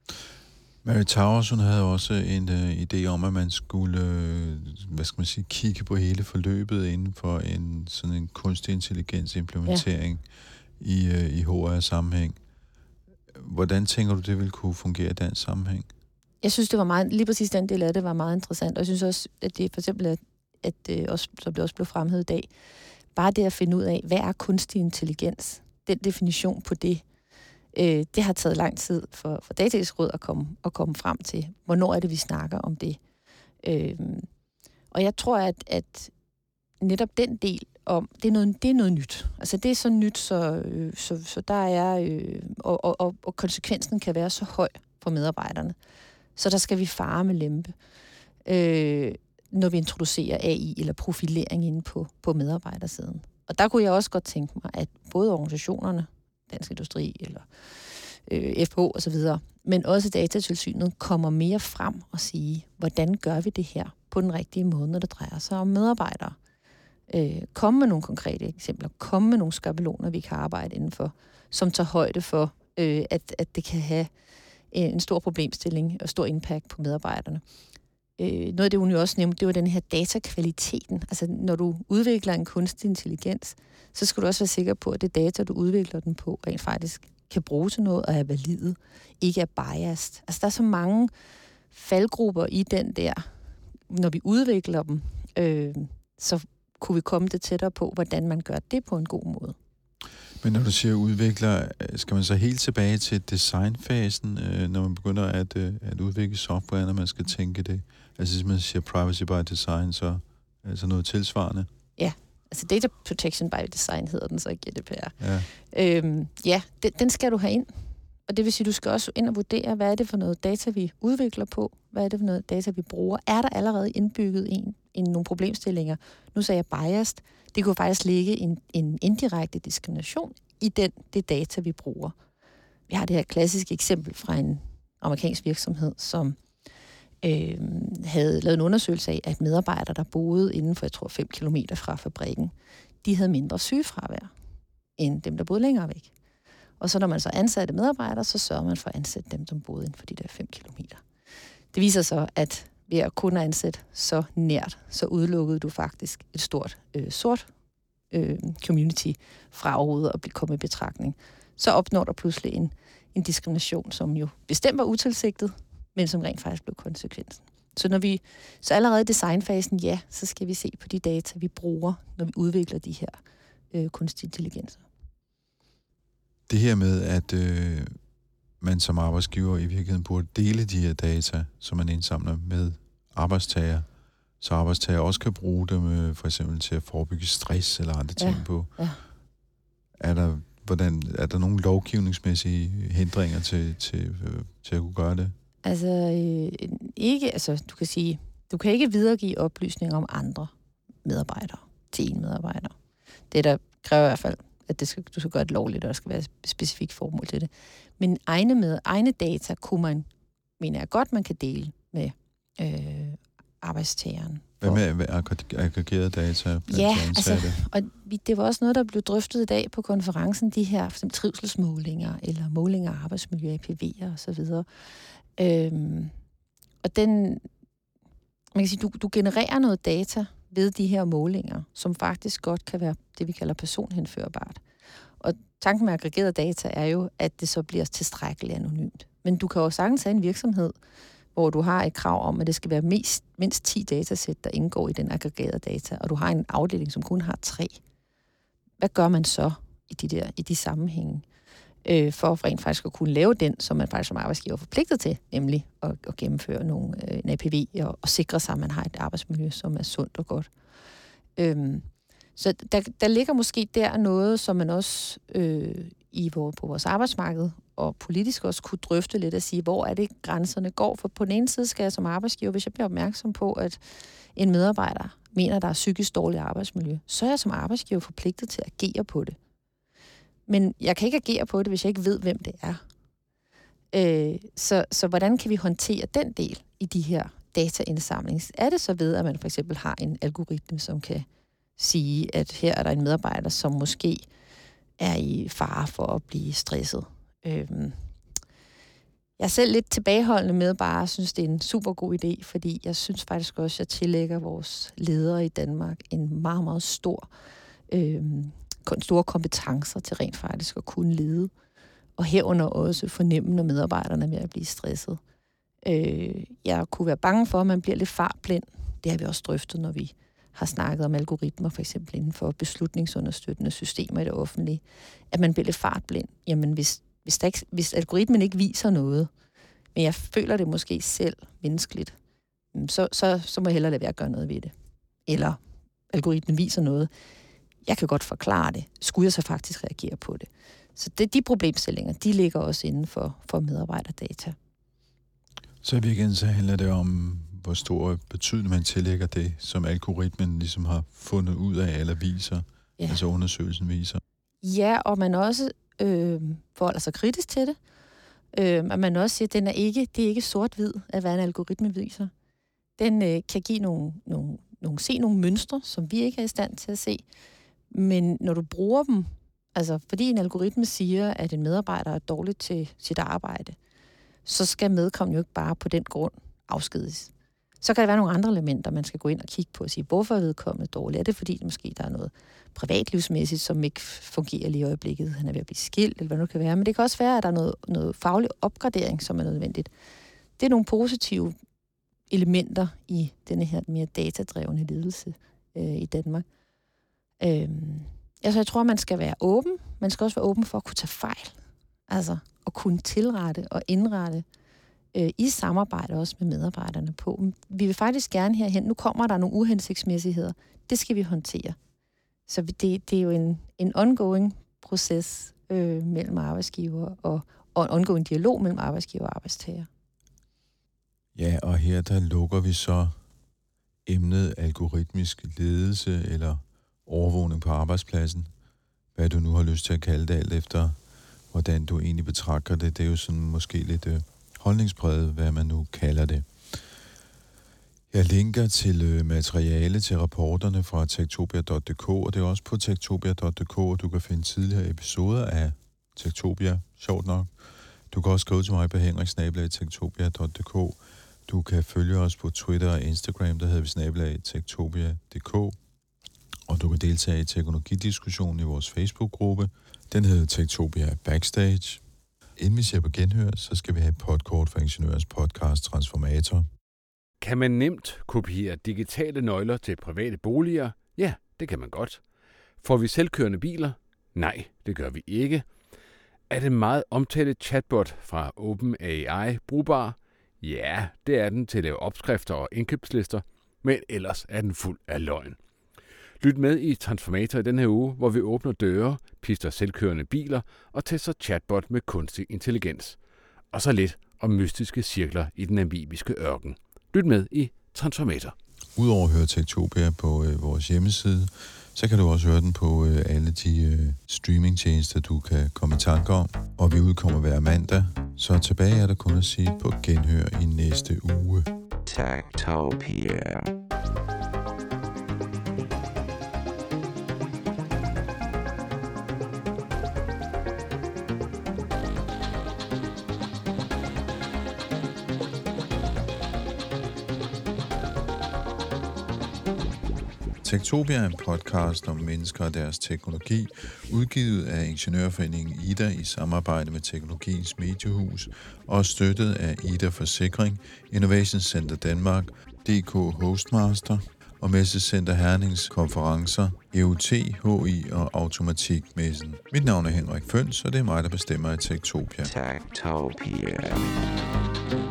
Mary Towers, hun havde også en uh, idé om, at man skulle uh, hvad skal man sige, kigge på hele forløbet inden for en sådan en kunstig intelligens implementering ja. i, uh, i H R-sammenhæng. Hvordan tænker du, det ville kunne fungere i den sammenhæng? Jeg synes, det var meget, lige præcis den del af det var meget interessant, og jeg synes også, at det for eksempel, at, at det også, som det også blev fremhævet i dag, bare det at finde ud af, hvad er kunstig intelligens? Den definition på det, øh, det har taget lang tid for, for Dataetisk Råd at komme, at komme frem til. Hvornår er det, vi snakker om det? Øh, Og jeg tror, at, at netop den del om, det er noget, det er noget nyt. Altså det er så nyt, så, øh, så, så der er, øh, og, og, og, og konsekvensen kan være så høj for medarbejderne. Så der skal vi fare med lempe, øh, når vi introducerer A I eller profilering inde på, på medarbejdersiden. Og der kunne jeg også godt tænke mig, at både organisationerne, Dansk Industri eller øh, F H og så videre, men også Datatilsynet kommer mere frem og sige, hvordan gør vi det her på den rigtige måde, når det drejer sig om medarbejdere. Øh, komme med nogle konkrete eksempler, komme med nogle skabeloner, vi kan arbejde indenfor, som tager højde for, øh, at, at det kan have en stor problemstilling og stor impact på medarbejderne. Øh, noget af det, hun jo også nævnte, det var den her datakvaliteten. Altså, når du udvikler en kunstig intelligens, så skal du også være sikker på, at det data, du udvikler den på, rent faktisk kan bruge til noget og er valide, ikke er biased. Altså, der er så mange faldgrupper i den der, når vi udvikler dem, øh, så kunne vi komme det tættere på, hvordan man gør det på en god måde. Men når du siger udvikler, skal man så helt tilbage til designfasen, øh, når man begynder at, øh, at udvikle software, når man skal tænke det? Altså hvis man siger privacy by design, så altså noget tilsvarende? Ja, altså data protection by design hedder den så ikke G D P R. Ja, øhm, ja den, den skal du have ind. Og det vil sige, du skal også ind og vurdere, hvad er det for noget data, vi udvikler på? Hvad er det for noget data, vi bruger? Er der allerede indbygget en, en nogle problemstillinger? Nu sagde jeg biased. Det kunne faktisk ligge en, en indirekte diskrimination i den, det data, vi bruger. Vi har det her klassiske eksempel fra en amerikansk virksomhed, som øh, havde lavet en undersøgelse af, at medarbejdere, der boede inden for, jeg tror, fem kilometer fra fabrikken, de havde mindre sygefravær end dem, der boede længere væk. Og så når man så ansatte medarbejdere, så sørger man for at ansætte dem, som boede inden for de der fem kilometer. Det viser så, at ved at kun ansætte så nært, så udelukkede du faktisk et stort øh, sort øh, community fra overhovedet at blive kommet i betragtning. Så opnår der pludselig en, en diskrimination, som jo bestemt var utilsigtet, men som rent faktisk blev konsekvensen. Så når vi så allerede i designfasen, ja, så skal vi se på de data, vi bruger, når vi udvikler de her øh, kunstige intelligenser. det her med, at øh, man som arbejdsgiver i virkeligheden burde dele de her data, som man indsamler med arbejdstager, så arbejdstager også kan bruge dem øh, for eksempel til at forebygge stress eller andre ting ja, på. Ja. Er der, hvordan, er der nogle lovgivningsmæssige hindringer til, til, øh, til at kunne gøre det? Altså, øh, ikke, altså, du kan sige, du kan ikke videregive oplysninger om andre medarbejdere til en medarbejder. Det der kræver i hvert fald, at det skal, du skal gøre det lovligt, og der skal være et specifikt formål til det. Men egne, med, egne data kunne man, mener jeg godt, man kan dele med øh, arbejdstageren. Hvad med aggregerede data? Ja, altså, og det var også noget, der blev drøftet i dag på konferencen, de her for eksempel trivselsmålinger, eller målinger af arbejdsmiljø, A P V'er og så videre. Øhm, og den, man kan sige, du, du genererer noget data ved de her målinger, som faktisk godt kan være det, vi kalder personhenførbart. Og tanken med aggregerede data er jo, at det så bliver tilstrækkeligt anonymt. Men du kan jo sagtens have en virksomhed, hvor du har et krav om, at det skal være mest, mindst ti datasæt, der indgår i den aggregerede data, og du har en afdeling, som kun har tre. Hvad gør man så i de, der, i de sammenhænge, øh, for rent faktisk at kunne lave den, som man faktisk som arbejdsgiver er forpligtet til, nemlig at, at gennemføre nogle, øh, en A P V og, og sikre sig, at man har et arbejdsmiljø, som er sundt og godt. Øhm, så der, der ligger måske der noget, som man også øh, i vor, på vores arbejdsmarked og politisk også kunne drøfte lidt og sige, hvor er det grænserne går. For på den ene side skal jeg som arbejdsgiver, hvis jeg bliver opmærksom på, at en medarbejder mener, der er psykisk dårligt arbejdsmiljø, så er jeg som arbejdsgiver forpligtet til at agere på det. Men jeg kan ikke agere på det, hvis jeg ikke ved, hvem det er. Øh, så, så hvordan kan vi håndtere den del i de her dataindsamling? Er det så ved, at man for eksempel har en algoritme, som kan sige, at her er der en medarbejder, som måske er i fare for at blive stresset? Øhm, jeg er selv lidt tilbageholdende med bare at synes, det er en super god idé, fordi jeg synes faktisk også, at jeg tillægger vores ledere i Danmark en meget, meget stor, øhm, store kompetencer til rent faktisk at kunne lede, og herunder også fornemme, når medarbejderne er ved at blive stresset. Øh, jeg kunne være bange for, at man bliver lidt fartblind. Det har vi også drøftet, når vi har snakket om algoritmer, for eksempel inden for beslutningsunderstøttende systemer i det offentlige, at man bliver lidt fartblind. Jamen, hvis, hvis, der ikke, hvis algoritmen ikke viser noget, men jeg føler det måske selv menneskeligt, så, så, så må jeg hellere lade være at gøre noget ved det. Eller algoritmen viser noget. Jeg kan godt forklare det. Skulle jeg så faktisk reagere på det? Så det, de problemstillinger, de ligger også inden for, for medarbejderdata. Så i virkeligheden så handler det om, hvor stor betydning man tillægger det, som algoritmen ligesom har fundet ud af eller viser, ja. Altså undersøgelsen viser. Ja, og man også øh, forholder sig kritisk til det. Øh, og man også siger, at den er ikke, det er ikke sort-hvid, at hvad en algoritme viser. Den øh, kan give nogle, nogle, nogle, se nogle mønstre, som vi ikke er i stand til at se. Men når du bruger dem, altså fordi en algoritme siger, at en medarbejder er dårlig til sit arbejde, så skal medkommende jo ikke bare på den grund afskediges. Så kan der være nogle andre elementer, man skal gå ind og kigge på og sige, hvorfor er vedkommende dårlig? Er det fordi, måske der er noget privatlivsmæssigt, som ikke fungerer lige i øjeblikket? Han er ved at blive skilt, eller hvad det kan være. Men det kan også være, at der er noget, noget faglig opgradering, som er nødvendigt. Det er nogle positive elementer i denne her mere datadrevne ledelse øh, i Danmark. Øhm, altså, jeg tror, man skal være åben. Man skal også være åben for at kunne tage fejl. Altså, at kunne tilrette og indrette øh, i samarbejde også med medarbejderne på. Vi vil faktisk gerne herhen. Nu kommer der nogle uhensigtsmæssigheder. Det skal vi håndtere. Så det, det er jo en, en ongoing proces øh, mellem arbejdsgiver og, og en ongoing dialog mellem arbejdsgiver og arbejdstager. Ja, og her der lukker vi så emnet algoritmisk ledelse eller overvågning på arbejdspladsen. Hvad du nu har lyst til at kalde det, alt efter hvordan du egentlig betragter det. Det er jo sådan måske lidt øh, holdningspræget, hvad man nu kalder det. Jeg linker til øh, materiale til rapporterne fra techtopia punktum d k, og det er også på techtopia punktum d k, og du kan finde tidligere episoder af Techtopia, sjovt nok. Du kan også skrive til mig på henrik snabel-a techtopia punktum d k. Du kan følge os på Twitter og Instagram, der hedder vi snabel-a techtopia punktum d k. Og du kan deltage i teknologidiskussionen i vores Facebook-gruppe. Den hedder Techtopia Backstage. Inden vi ser på genhør, så skal vi have et podkort for Ingeniørens podcast Transformator. Kan man nemt kopiere digitale nøgler til private boliger? Ja, det kan man godt. Får vi selvkørende biler? Nej, det gør vi ikke. Er den meget omtalte chatbot fra OpenAI brugbar? Ja, det er den til at lave opskrifter og indkøbslister, men ellers er den fuld af løgn. Lyt med i Transformator i den her uge, hvor vi åbner døre, pister selvkørende biler og tester chatbot med kunstig intelligens. Og så lidt om mystiske cirkler i den namibiske ørken. Lyt med i Transformator. Udover at høre Techtopia på øh, vores hjemmeside, så kan du også høre den på øh, alle de øh, streamingtjenester, du kan komme i tanke om. Og vi udkommer hver mandag, så tilbage er der kun at sige på genhør i næste uge. Techtopia. Techtopia er en podcast om mennesker og deres teknologi, udgivet af Ingeniørforeningen Ida i samarbejde med Teknologiens Mediehus og støttet af Ida Forsikring, Innovation Center Danmark, D K Hostmaster og Messecenter Hernings konferencer, E U T, H I og Automatikmessen. Mit navn er Henrik Føns, og det er mig, der bestemmer i Techtopia. Techtopia.